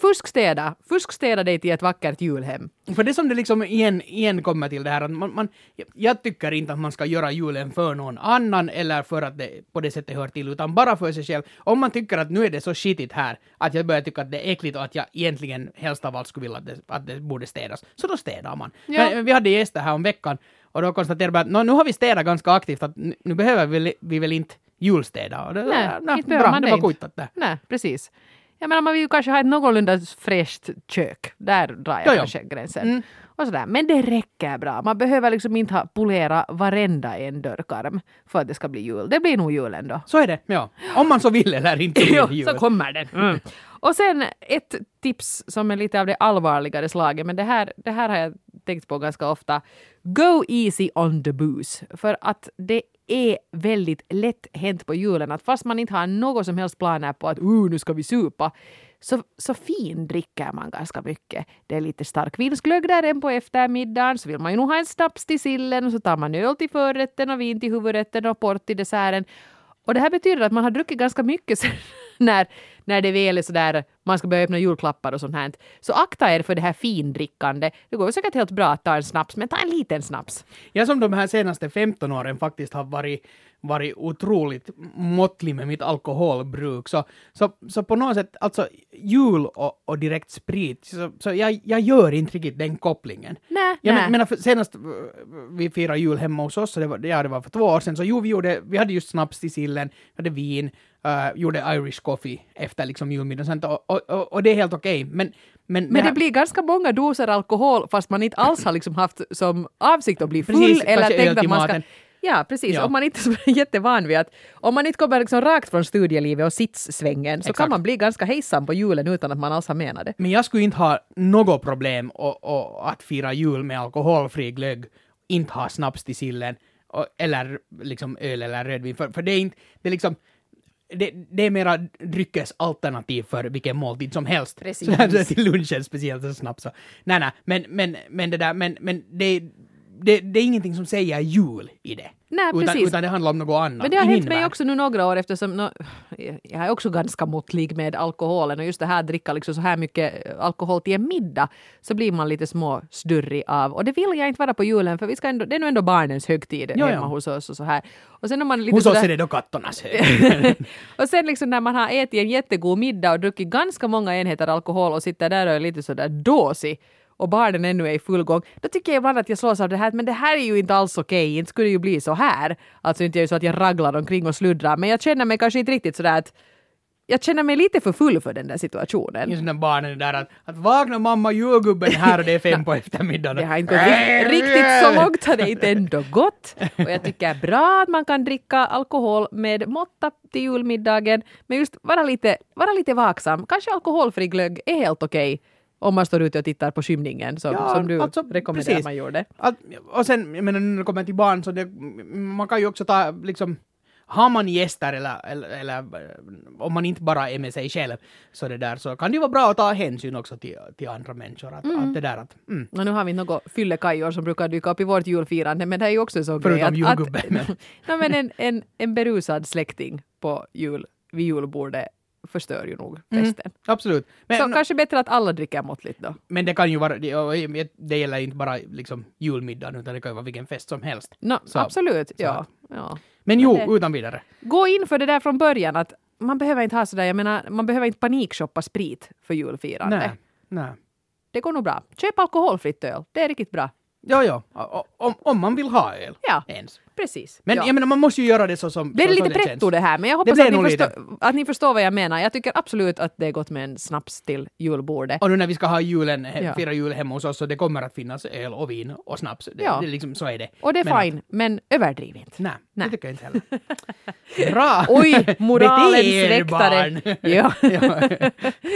fuskstäda. Fuskstäda dig till ett vackert julhem. För det som det liksom igen, igen kommer till det här att man, man, jag tycker inte att man ska göra julen för någon annan eller för att det på det sättet hör till, utan bara för sig själv. Om man tycker att nu är det så skitigt här att jag börjar tycka att det är äckligt och att jag egentligen helst av allt skulle vilja att det, att det borde städas, så då städar man. Ja. Men, vi hade gäster här om veckan och då konstaterade vi att nu har vi städat ganska aktivt, att nu, nu behöver vi, vi väl inte julstäda. Och det, Nej, ja, inte behöver bra, man det det var inte. kujtat där. Nej, precis. Jag menar, man vill ju kanske ha ett någorlunda fräscht kök. Där drar jag Jo, jo. kanske gränsen. Mm. Och sådär. Men det räcker bra. Man behöver liksom inte ha polera varenda en dörrkarm för att det ska bli jul. Det blir nog jul ändå. Så är det, ja. Om man så vill eller inte vill Jo, jul. så kommer den. Mm. Och sen ett tips som är lite av det allvarligare slaget, men det här, det här har jag tänkt på ganska ofta. Go easy on the booze. För att det är väldigt lätt hänt på julen att fast man inte har något som helst planer på att uh, nu ska vi supa, så, så fin dricker man ganska mycket. Det är lite stark vinsglögg där än på eftermiddagen, så vill man ju nog ha en snaps till sillen och så tar man öl till förrätten och vin till huvudrätten och port till desserten. Och det här betyder att man har druckit ganska mycket sen när, när det väl är sådär, man ska börja öppna julklappar och sånt här. Så akta er för det här findrickande. Det går säkert helt bra att ta en snaps, men ta en liten snaps. Jag som de här senaste femton åren faktiskt har varit, varit otroligt måttlig med mitt alkoholbruk. Så, så, så på något sätt, alltså jul och, och direkt sprit, så, så jag, jag gör inte riktigt den kopplingen. Nej, Jag nej. men, menar, för senast uh, vi firade jul hemma hos oss, så det var, ja, det var för två år sedan, så jo, vi, gjorde, vi hade just snaps till sillen, vi hade vin, uh, gjorde Irish coffee efter liksom julmiddagen, och, och, och, och det är helt okej. Okay. Men, men, Men det, det här, blir ganska många doser alkohol fast man inte alls har liksom haft som avsikt att bli full. Precis, eller kanske öl tänkt till att man ska... maten. Ja, precis. Ja. Om man inte är jättevan vid att... Om man inte kommer liksom rakt från studielivet och sitssvängen så Exakt. kan man bli ganska hejsam på julen utan att man alls har menat det. Men jag skulle inte ha något problem och, och, att fira jul med alkoholfri glögg, inte ha snaps till sillen, och, eller liksom öl eller rödvin, för, för det är inte, det är liksom, det, det är mera dryckesalternativ för vilken måltid som helst. Precis. Så här, till lunchen speciellt så snabbt så. Nej, nej, men, men, men det där, men, men det, det, det är ingenting som säger jul i det. Nej, utan, precis. utan det handlar om något annat. Men det har i hänt min mig värld. också nu några år eftersom no, jag är också ganska måttlig med alkoholen och just det här dricka liksom så här mycket alkohol till en middag så blir man lite små störrig av och det vill jag inte vara på julen för vi ska ändå, det är nog ändå barnens högtid Jo, hemma ja. hos oss och så här. Och sen om man är lite Hos oss sådär- är det då kattornas hög. och sen liksom när man har ätit en jättegod middag och druckit ganska många enheter alkohol och sitter där och är lite sådär dåsig och barnen ännu är i full gång, då tycker jag ibland att jag slås av det här, men det här är ju inte alls okej, inte skulle det ju bli så här. Alltså inte är det så att jag raglar omkring och sluddrar, men jag känner mig kanske inte riktigt sådär att jag känner mig lite för full för den där situationen. Just när barnen är där att, att vakna mamma julgubben här och det är fem på eftermiddagen. Det har inte gått rikt- riktigt så långt, har det inte ändå gått. Och jag tycker bra att man kan dricka alkohol med måtta till julmiddagen, men just vara lite, vara lite vaksam. Kanske alkoholfri glögg är helt okej. Om man står ute och tittar på skymningen som, Ja, som du alltså, rekommenderar precis. man gjorde. Att, och sen, jag menar, när det kommer till barn så det, man kan ju också ta, liksom, har man gäster eller, eller, eller eh, om man inte bara är med sig själv så det där så kan det ju vara bra att ta hänsyn också till, till andra människor. Att, att det där att, mm. Och nu har vi något fyllekajor som brukar dyka upp i vårt julfirande, men det är ju också så Förutom grej att, julgubben, att men- no, men en, en, en berusad släkting på jul, vid julbordet förstör ju nog festen. Absolut. Men, Så kanske bättre att alla dricker måttligt då. men det kan ju vara, det, och det gäller inte bara liksom julmiddagen utan det kan ju vara vilken fest som helst. No, Så- absolut, ja. att- ja. Men jo, det- utan vidare. Gå in för det där från början att man behöver inte ha sådär, jag menar, man behöver inte panikshoppa sprit för julfirande. Nej, nej. Det går nog bra. Köp alkoholfritt öl, det är riktigt bra. Ja, ja. O- Om, om man vill ha öl Ja. ens. Precis. Men ja. jag menar, man måste ju göra det så som Det är så, så lite pretto känns. det här, men jag hoppas blir att ni, nog förstår, att ni förstår vad jag menar. Jag tycker absolut att det är gott med en snaps till julbordet. Och nu när vi ska ha julen, he- Ja. fira jul hemma hos oss så det kommer att finnas öl och vin och snaps. Det, Ja. det är liksom, så är det. Och det är Men- fine, men överdriv inte. Nej, Nej. det tycker jag inte heller. Bra! Oj, moralens Bete er, väktare. barn. Ja. Ja.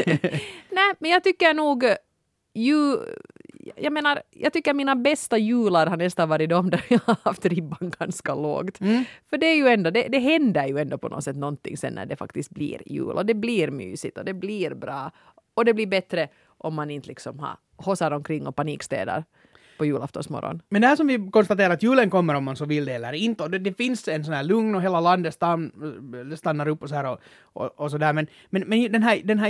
Nej, men jag tycker nog ju, jag menar, jag tycker mina bästa jular har nästan varit de där jag har haft ribban ganska lågt. Mm. För det är ju ändå, det, det händer ju ändå på något sätt någonting sen när det faktiskt blir jul och det blir mysigt och det blir bra och det blir bättre om man inte liksom har hossar omkring och panikstädar. på julaftonsmorgon. Men det här som vi konstaterar att julen kommer om man så vill det eller inte. Och det, det finns en sån här lugn och hela landet stann, stannar upp och så här och, och, och så där. Men, men, men den här, den här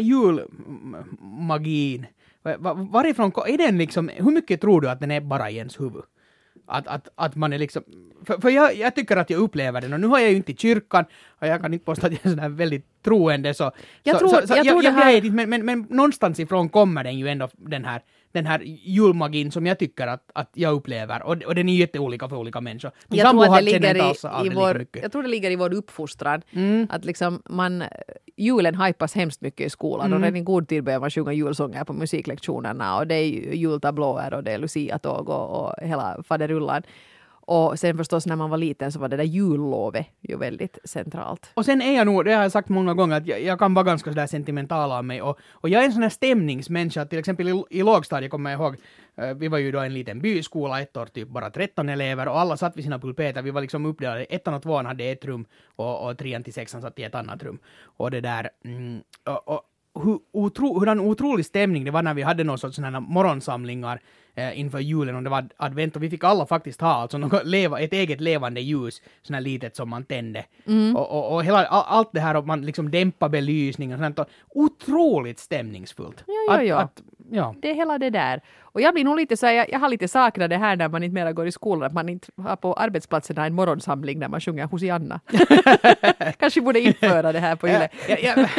julmagin, var, varifrån, är den liksom, hur mycket tror du att den är bara i ens huvud? Att, att, att man är liksom, för, för jag, jag tycker att jag upplever den och nu har jag ju inte i kyrkan och jag kan inte påstå att jag är sån här väldigt troende så jag så, tror, så, så jag jag, tror jag, det här... jag, men, men, men någonstans ifrån kommer den ju ändå den här den här julmagin som jag tycker att, att jag upplever och, och den är jätteolika för olika människor. Min Jag tror, att det har ligger inte i, alls av i det vår, lika mycket. jag tror det ligger i vår uppfostran. Mm. Att liksom man, julen hypas hemskt mycket i skolan Mm. och redan i god tid börjar man sjunga julsånger på musiklektionerna och det är jultablåer och det är Lucia-tåg och, och hela faderullan. Och sen förstås när man var liten så var det där jullovet ju väldigt centralt. Och sen är jag nog, det har jag sagt många gånger, att jag, jag kan vara ganska sådär sentimental av mig. Och, och jag är en sån här stämningsmänniska, till exempel i, i lågstadiet kommer jag ihåg, uh, vi var ju då en liten byskola, ett år typ bara tretton elever och alla satt vid sina pulpeter. Vi var liksom uppdelade, ettan och tvåan hade ett rum och, och trean till sexan satt i ett annat rum. Och det där, mm, och, och hur, otro, hurdan otrolig stämning det var när vi hade någon sorts sådana morgonsamlingar eh, inför julen och det var advent och vi fick alla faktiskt ha alltså något leva, ett eget levande ljus, sån här litet som man tände. Mm. Och, och, och hela, all, allt det här och man liksom dämpar belysningen och sånt och otroligt stämningsfullt. Ja, ja, ja. Att, att, ja. Det är hela det där. Och jag blir nog lite så här, jag, jag har lite saknat det här när man inte mera går i skolan, att man inte har på arbetsplatserna en morgonsamling när man sjunger Hosianna. Kanske borde införa det här på Yle. ja, ja, ja,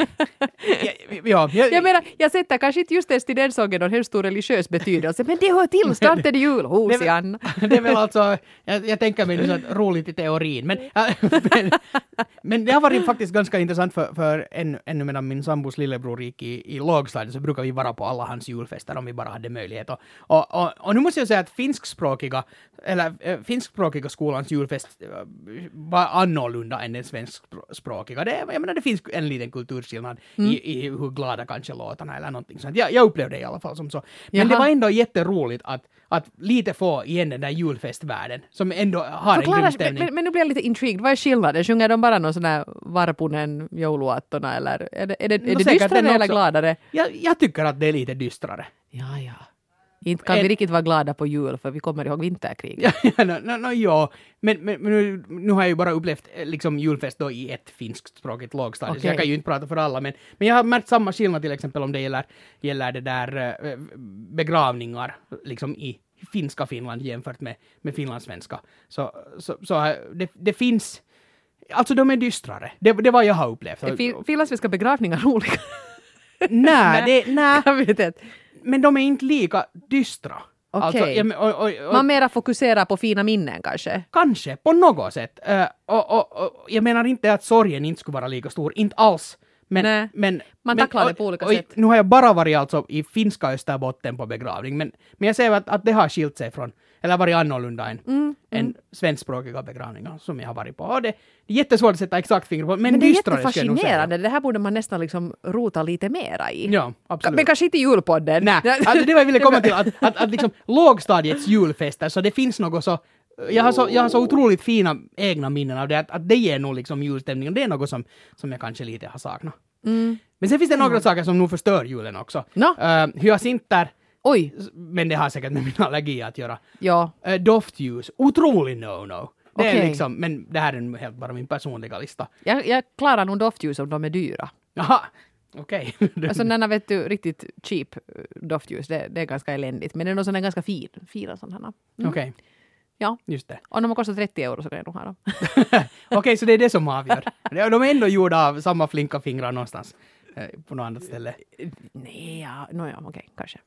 ja, ja, jag menar, jag sätter kanske inte just ens till den sången någon helt stor religiös betydelse, men det hör till, snart är det jul, Hosianna. Det, det är väl alltså, jag, jag tänker mig så roligt i teorin, men, men, men det har varit faktiskt ganska intressant för, för än, ännu medan min sambos lillebror gick i, i lågstadiet så brukar vi vara på alla hans julfester om vi bara hade möjlighet. Och, och, och, och nu måste jag säga att finskspråkiga, eller äh, finskspråkiga skolans julfest äh, var annorlunda än den svenskspråkiga. Det, jag menar, det finns en liten kulturskillnad mm. i, i hur glada kanske låtarna eller någonting sånt. Jag, jag upplevde det i alla fall som så. Men Jaha. Det var ändå jätteroligt att, att lite få igen den där julfestvärlden som ändå har Förklara, en grym stämning. Men, men nu blir jag lite intrigued. Vad är skillnaden? Sjunger de bara någon sån här Varpunen jouluattona eller är det, är det, är det no, dystrare eller gladare? Jag, jag tycker att det är lite dystrare. Ja, ja. Inte kan en... vi riktigt vara glada på jul för vi kommer ihåg vinterkriget. Ja, no, no, no, ja. Men, men, men nu, nu har jag ju bara upplevt liksom, julfest då i ett finskspråkigt lågstadie, okay. Så jag kan ju inte prata för alla. Men, men jag har märkt samma skillnad till exempel om det gäller, gäller det där äh, begravningar liksom i finska Finland jämfört med, med finlandssvenska. Så, så, så det, det finns... Alltså de är dystrare. Det, det var jag har upplevt. Är finlandssvenska begravningar roliga? Nej, det... Nej. Jag vet inte. Men de är inte lika dystra. Okej. Okay. Alltså, och, och, och, man mera fokuserar på fina minnen kanske? Kanske, på något sätt. Uh, och, och, och, jag menar inte att sorgen inte skulle vara lika stor, inte alls. Men, Nej, men, man tacklar men, det på olika och, sätt. Och, nu har jag bara varit alltså i finska Österbotten på begravning, men, men jag ser att, att det har skilt sig från, eller varit annorlunda än, mm, än mm. svenskspråkiga begravningar som jag har varit på. Och det, det är jättesvårt att sätta exakt finger på, men, men det är dystrare, jättefascinerande. Det här borde man nästan liksom rota lite mera i. Ja, absolut. Men kanske inte i julpodden. Nej, alltså det var jag ville komma till, att, att, att liksom lågstadiets julfester, så det finns något så Jag har, så, jag har så otroligt fina egna minnen av det, att, att det ger nog liksom julstämning, och det är något som, som jag kanske lite har saknat. Mm. Men sen finns det några mm. saker som nog förstör julen också. No. Uh, hyacinter, Oj. Men det har säkert med min allergi att göra. Ja. Uh, doftljus, otroligt no-no. Det okay. är liksom, men det här är helt bara min personliga lista. Jag, jag klarar nog doftljus om de är dyra. Jaha. Okej. Okay. Alltså när vet du riktigt cheap doftljus, det, det är ganska eländigt. Men det är nog sån ganska fin, fina sådana. Mm. Okej. Okay. Ja, just det. Och de har kostat trettio euro så kan jag nog ha dem. Okej, okay, så det är det som avgör. De är ändå gjorda av samma flinka fingrar någonstans. På något annat ställe. Nej, ja, no, ja okej, okay, kanske.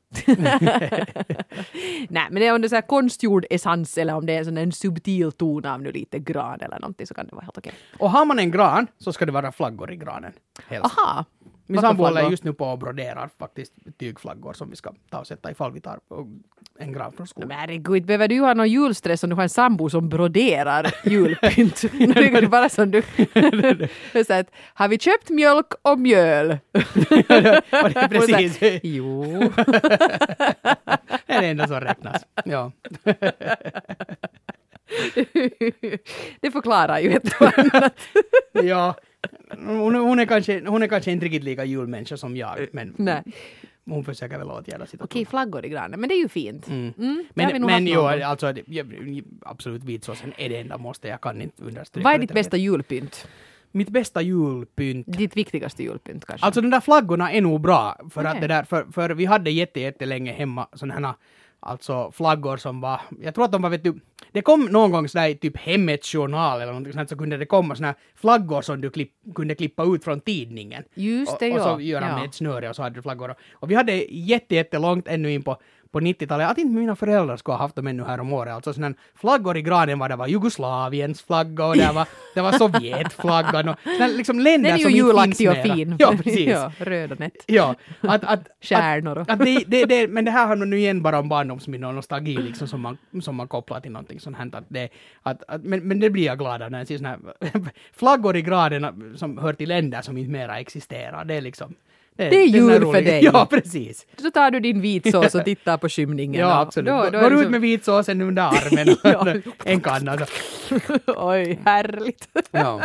Nej, men det är om det är så här konstgjord essens eller om det är sån en subtil ton av nu lite gran eller någonting så kan det vara helt okej. Okay. Och har man en gran så ska det vara flaggor i granen. Helst. Aha. Min sambo håller just nu på och broderar faktiskt tygflaggor som vi ska ta och sätta ifall vi tar en gran från skolan. Men herregud, behöver du ha någon julstress om du har en sambo som broderar julpynt? Nu är det bara som du... så att, har vi köpt mjölk och mjöl? Och det är precis. Så, jo. Det är det enda som räknas. Ja. Det förklarar ju ett och annat. Ja. Hon, hon, är kanske, hon är kanske inte riktigt lika julmänniska som jag. Men Nej. hon försöker väl åtgärda sitt. Okej, flaggor i granen, men det är ju fint. Mm. Mm, det har vi Men, nog men haft jo, någon gång. alltså det- jag- absolut vitsåsen är det enda måste. Jag kan inte understryka. Vad är det ditt mer. bästa julpynt? Mitt bästa julpynt. Ditt viktigaste julpynt kanske? Alltså de där flaggorna är nog bra. För Okej. att det där, för, för vi hade jätte, jättelänge hemma sådana här alltså flaggor som var, jag tror att de var, vet du, det kom någon gång sådär i typ Hemmets journal eller någonting sånt, så kunde det komma sådana här flaggor som du klipp, kunde klippa ut från tidningen. Just det, och, och ja. så göra Ja. med ett snöre och så hade du flaggor. Och vi hade jätte, jättelångt ännu in på på nittiotalet, att inte mina föräldrar skulle ha haft dem ännu här om året. Alltså sådana flaggor i granen var det var Jugoslaviens flagga och det var, det var Sovjetflaggan och sådana liksom länder Den är som ju inte julaktig finns och mera. fin. Ja, precis. ja, röd och nätt. Ja, att, att, Stjärnor och- att, att det, det, det, men det här handlar nu igen bara om barndomsminnen och nostalgi liksom som man, som man kopplar till någonting sånt här. Att det, att, att, men, men det blir jag glad av när jag ser såna här flaggor i graden som hör till länder som inte mera existerar. Det är liksom... Det är den här jul för roliga- dig. Ja, precis. Så tar du din vitsås och tittar på skymningen. Ja, och absolut. Då, Då, då Går är det ut liksom- med vitsåsen under armen och Ja. en kanna. Så. Oj, härligt. Ja.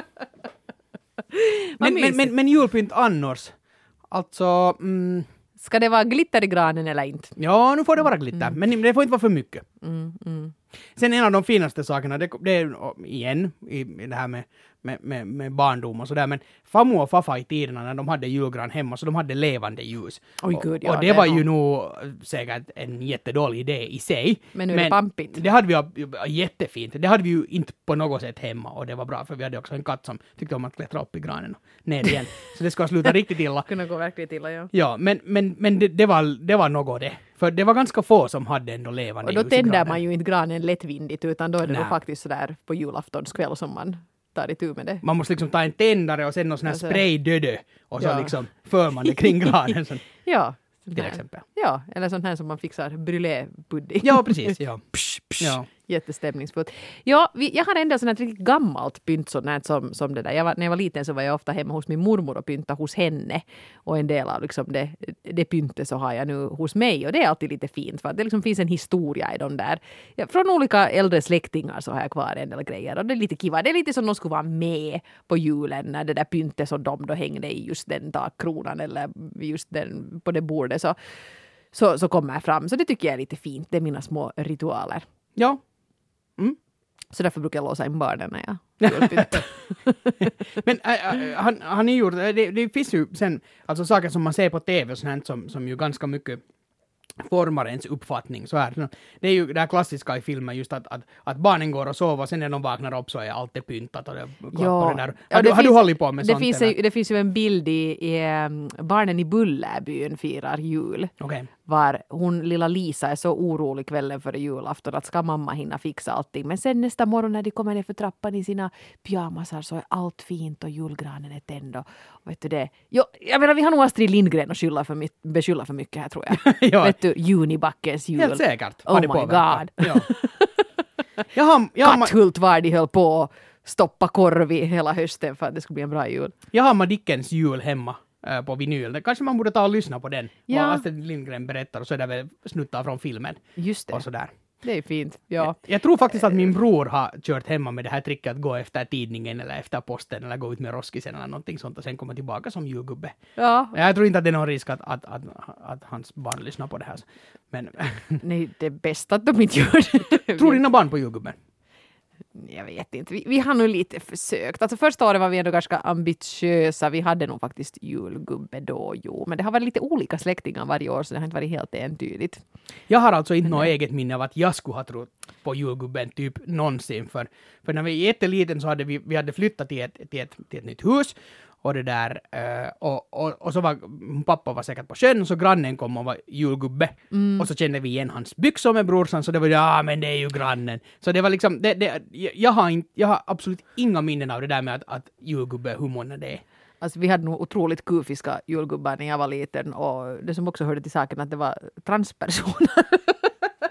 Vad men, men, mysigt. men, men julpynt annars. Alltså... Mm, Ska det vara glitter i granen eller inte? ja, nu får det vara glitter. Men det får inte vara för mycket. Mm, mm. Sen en av de finaste sakerna, det, det är igen i, i det här med, med, med, med barndom och sådär, men farmor och farfar i tiderna när de hade julgran hemma så de hade levande ljus. Oj, och, gud, ja, och det, det var är ju nog- nog säkert en jättedålig idé i sig. Men nu är det pampigt. Det hade vi ju jättefint. Det hade vi ju inte på något sätt hemma och det var bra för vi hade också en katt som tyckte om att klättra upp i granen och ner igen. Så det skulle sluta riktigt illa. Kunde gå verkligen till, ja. Ja, men, men, men det, det, var, det var något det. För det var ganska få som hade ändå levande Och då ljus i tänder granen. man ju inte granen lättvindigt utan då är det Nej. nog faktiskt sådär på julaftonskväll som man tar itu med det. Man måste liksom ta en tändare och sen någon sån här Alltså- spraydödö och så Ja. liksom för man det kring granen så, Ja. sån till här. exempel. Ja, eller sån här som man fixar brûlé-pudding. Ja, precis. Ja. Psh, psh. Ja. Jättestämningsfullt. Ja, vi, jag har ändå sånt här riktigt gammalt pynt sånt här som, som det där. Jag var, när jag var liten så var jag ofta hemma hos min mormor och pynta hos henne. Och en del av liksom det, det pyntet så har jag nu hos mig. Och det är alltid lite fint för att det liksom finns en historia i de där. Ja, från olika äldre släktingar så har jag kvar en del grejer. Och det är lite kiva. Det är lite som de skulle vara med på julen när det där pyntet som de då hängde i just den takkronan eller just den, på det bordet så, så, så kommer jag fram. Så det tycker jag är lite fint. Det är mina små ritualer. Ja. Så därför brukar jag låsa in barnen när jag julpyntar. Men äh, äh, han, han är gjort, det, det finns ju sen alltså saker som man ser på tv och sånt här som, som ju ganska mycket formar ens uppfattning. Så här. Det är ju det här klassiska i filmen just att, att, att barnen går och sover och sen när de vaknar upp så är allt det pyntat och det klappar det där. Har, Ja, du, det har du finns- hållit på med det sånt? finns, eller? ju, det finns ju en bild i, i um, Barnen i Bullerbyn firar jul. Okej. Var hon, lilla Lisa, är så orolig kvällen före julafton att ska mamma hinna fixa allting. Men sen nästa morgon när de kommer ner för trappan i sina pyjamasar så är allt fint och julgranen är tänd. Och, och vet du det? Jo, jag menar, vi har nog Astrid Lindgren att skylla för, my- beskylla för mycket här tror jag. Ja. Vet du, Junibackens jul. Helt säkert. Oh har det my påverkat. God. Ja. Jag har, jag, har, Katthult var de höll på att stoppa korv i hela hösten för att det skulle bli en bra jul. jag har Madickens jul hemma äh, på vinyl. Det kanske man borde ta och lyssna på den. Ja. Vad Astrid Lindgren berättar och så är det väl snuttar från filmen. Just det. Och sådär. Det är fint. Ja. Jag tror faktiskt att min bror har kört hemma med det här tricket att gå efter tidningen eller efter posten eller gå ut med roskisen eller någonting sånt och sen komma tillbaka som julgubbe. Ja. Jag tror inte att det är någon risk att, att, att, att hans barn lyssnar på det här. Men Nej, det är bäst att de inte gör det. tror dina barn på julgubben? Jag vet inte. Vi, vi har nog lite försökt. Alltså första året var vi ändå ganska ambitiösa. Vi hade nog faktiskt julgubbe då, jo. Men det har varit lite olika släktingar varje år så det har inte varit helt entydigt. Jag har alltså inte något eget minne av att jag skulle ha trott på julgubben typ någonsin. För, för när vi var jätteliten så hade vi, vi hade flyttat till ett, till ett, till ett nytt hus. Och det där, uh, och, och, och så var pappa var säkert på sjön och så grannen kom och var julgubbe. Mm. Och så kände vi igen hans byxor med brorsan så det var ja men det är ju grannen. Så det var liksom, det, det, jag, har inte, jag har absolut inga minnen av det där med att, att julgubbe, hur många det är. Alltså vi hade nog otroligt kufiska julgubbar när jag var liten och det som också hörde till saken att det var transpersoner.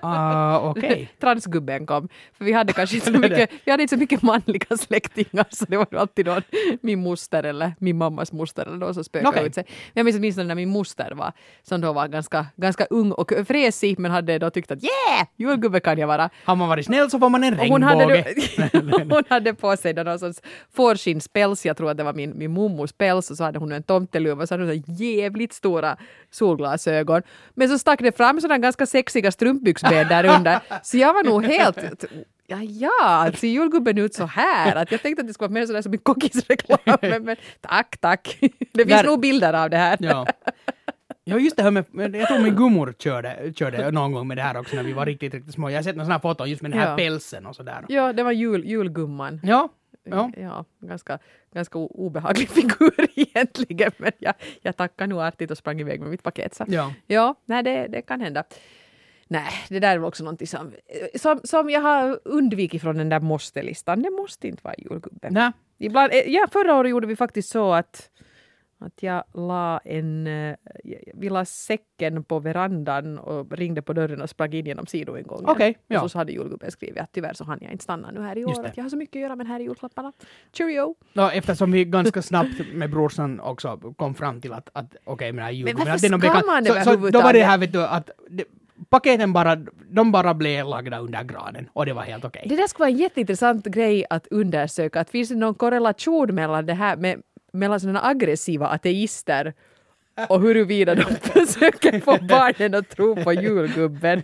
Ah, okej. Okay. Transgubben kom. För vi hade kanske inte så mycket, vi hade inte så mycket manliga släktingar så det var alltid någon, min moster eller min mammas moster eller någon som spökade okay. ut sig. Jag minns åtminstone när min moster var, som då var ganska, ganska ung och fräsig men hade då tyckt att yeah, julgubbe kan jag vara. Har man varit snäll så får man en regnbåge. Hon hade, hon hade på sig någon sorts fårskinnspäls, jag tror att det var min, min mummos päls och så hade hon en tomteluva och så hade hon så jävligt stora solglasögon. Men så stack det fram sådana ganska sexiga strumpbyxben där under. Så jag var nog helt... Ja, ja, ser julgubben ut så här? Att jag tänkte att det skulle vara mer sådär som en kockisreklam. Men, men tack, tack. Det finns där, nog bilder av det här. Ja. Ja, just det här med, jag tror min gummor körde, körde någon gång med det här också när vi var riktigt, riktigt små. Jag har sett några sådana foton just med den här ja. pälsen och sådär. Ja, det var jul, julgumman. Ja. Ja, ja ganska, ganska obehaglig figur egentligen, men jag, jag tackar nog artigt och sprang iväg med mitt paket. Så. Ja, ja nej, det, det kan hända. Nej, det där är också någonting som, som, som jag har undvikit från den där måste-listan. Det måste inte vara julgubben. Nej. Ibland, ja, förra året gjorde vi faktiskt så att att jag la en, vi la säcken på verandan och ringde på dörren och sprang in genom sidoingången. Okej, ja. Och så hade julgubben skrivit att tyvärr så hann jag inte stanna nu här i år. Att jag har så mycket att göra med den här i julklapparna. Cheerio! Ja, eftersom vi ganska snabbt med brorsan också kom fram till att, att okej, okay, men det här julgubben... Men varför ska bekan- man det så, så då var det här, vet du, att... Det, paketen bara, de bara blev lagda under granen och det var helt okej. Okay. Det där skulle vara en jätteintressant grej att undersöka. Att finns det någon korrelation mellan det här med mellan sådana aggressiva ateister och huruvida de försöker få barnen att tro på julgubben.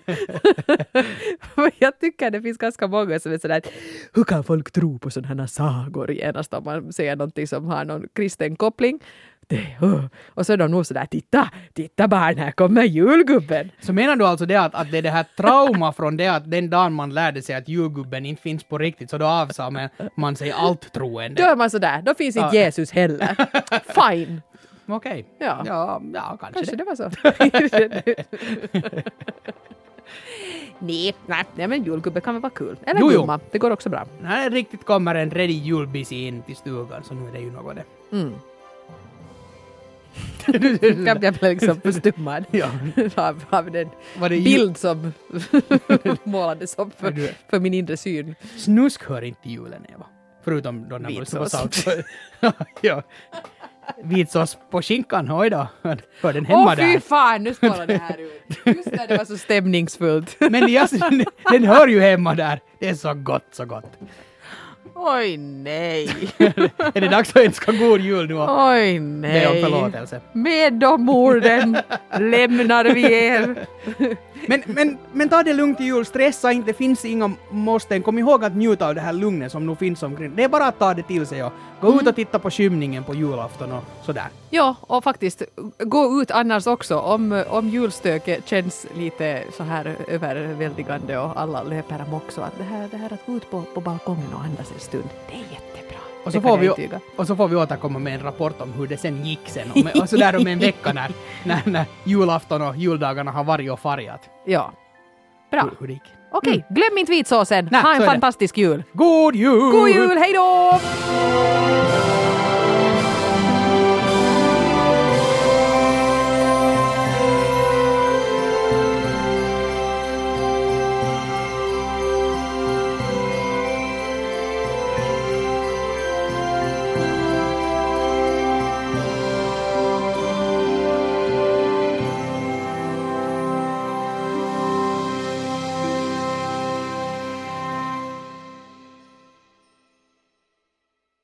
Jag tycker det finns ganska många som är sådär att hur kan folk tro på sådana här sagor genast om man säger någonting som har någon kristen koppling. Det, uh. Och så är de nog sådär, titta, titta barn, här kommer julgubben. Så menar du alltså det att, att det är det här trauma från det att den dagen man lärde sig att julgubben inte finns på riktigt så då avsade man, man sig allt troende. Då är man sådär, då finns inte ja. Jesus heller. Fine. Okej. Okay. Ja. Ja, ja, kanske, kanske det. det var så. nej, nej, nej, men julgubbe kan väl vara kul. Eller jo, gumma, det går också bra. När det riktigt kommer en redig julbis in till stugan så nu är det ju något det. Mm. Jag blev liksom förstummad ja. av, av den bild som målades upp för, för min inre syn. Snusk hör inte julen, Eva. Förutom då när man står salt. Ja. Vitsås på skinkan, oj då. Hör den hemma Åh, där. Åh fy fan, nu står det här ut. Just när det var så stämningsfullt. Men jag, den hör ju hemma där. Det är så gott, så gott. Oj nej. Är det dags att önska god jul nu? Oj nej. Det är om förlåtelse. Med de orden lämnar vi er. Men, men, men ta det lugnt i jul, stressa inte, det finns inga måsten. Kom ihåg att njuta av det här lugnet som nu finns omkring. Det är bara att ta det till sig och gå mm. ut och titta på skymningen på julafton och sådär. Ja, och faktiskt gå ut annars också om, om julstöket känns lite så här överväldigande och alla löper amok så att det här, det här att gå ut på, på balkongen och andas en stund, det är jättebra. Och så, får vi, och så får vi återkomma med en rapport om hur det sen gick sen. Och, med, och så där om en vecka när, när, när julafton och juldagarna har varit och fargat. Ja, bra. Hur, hur det gick. Okej, mm. glöm inte vitsåsen. Ha en fantastisk jul. God jul! God jul, hej då!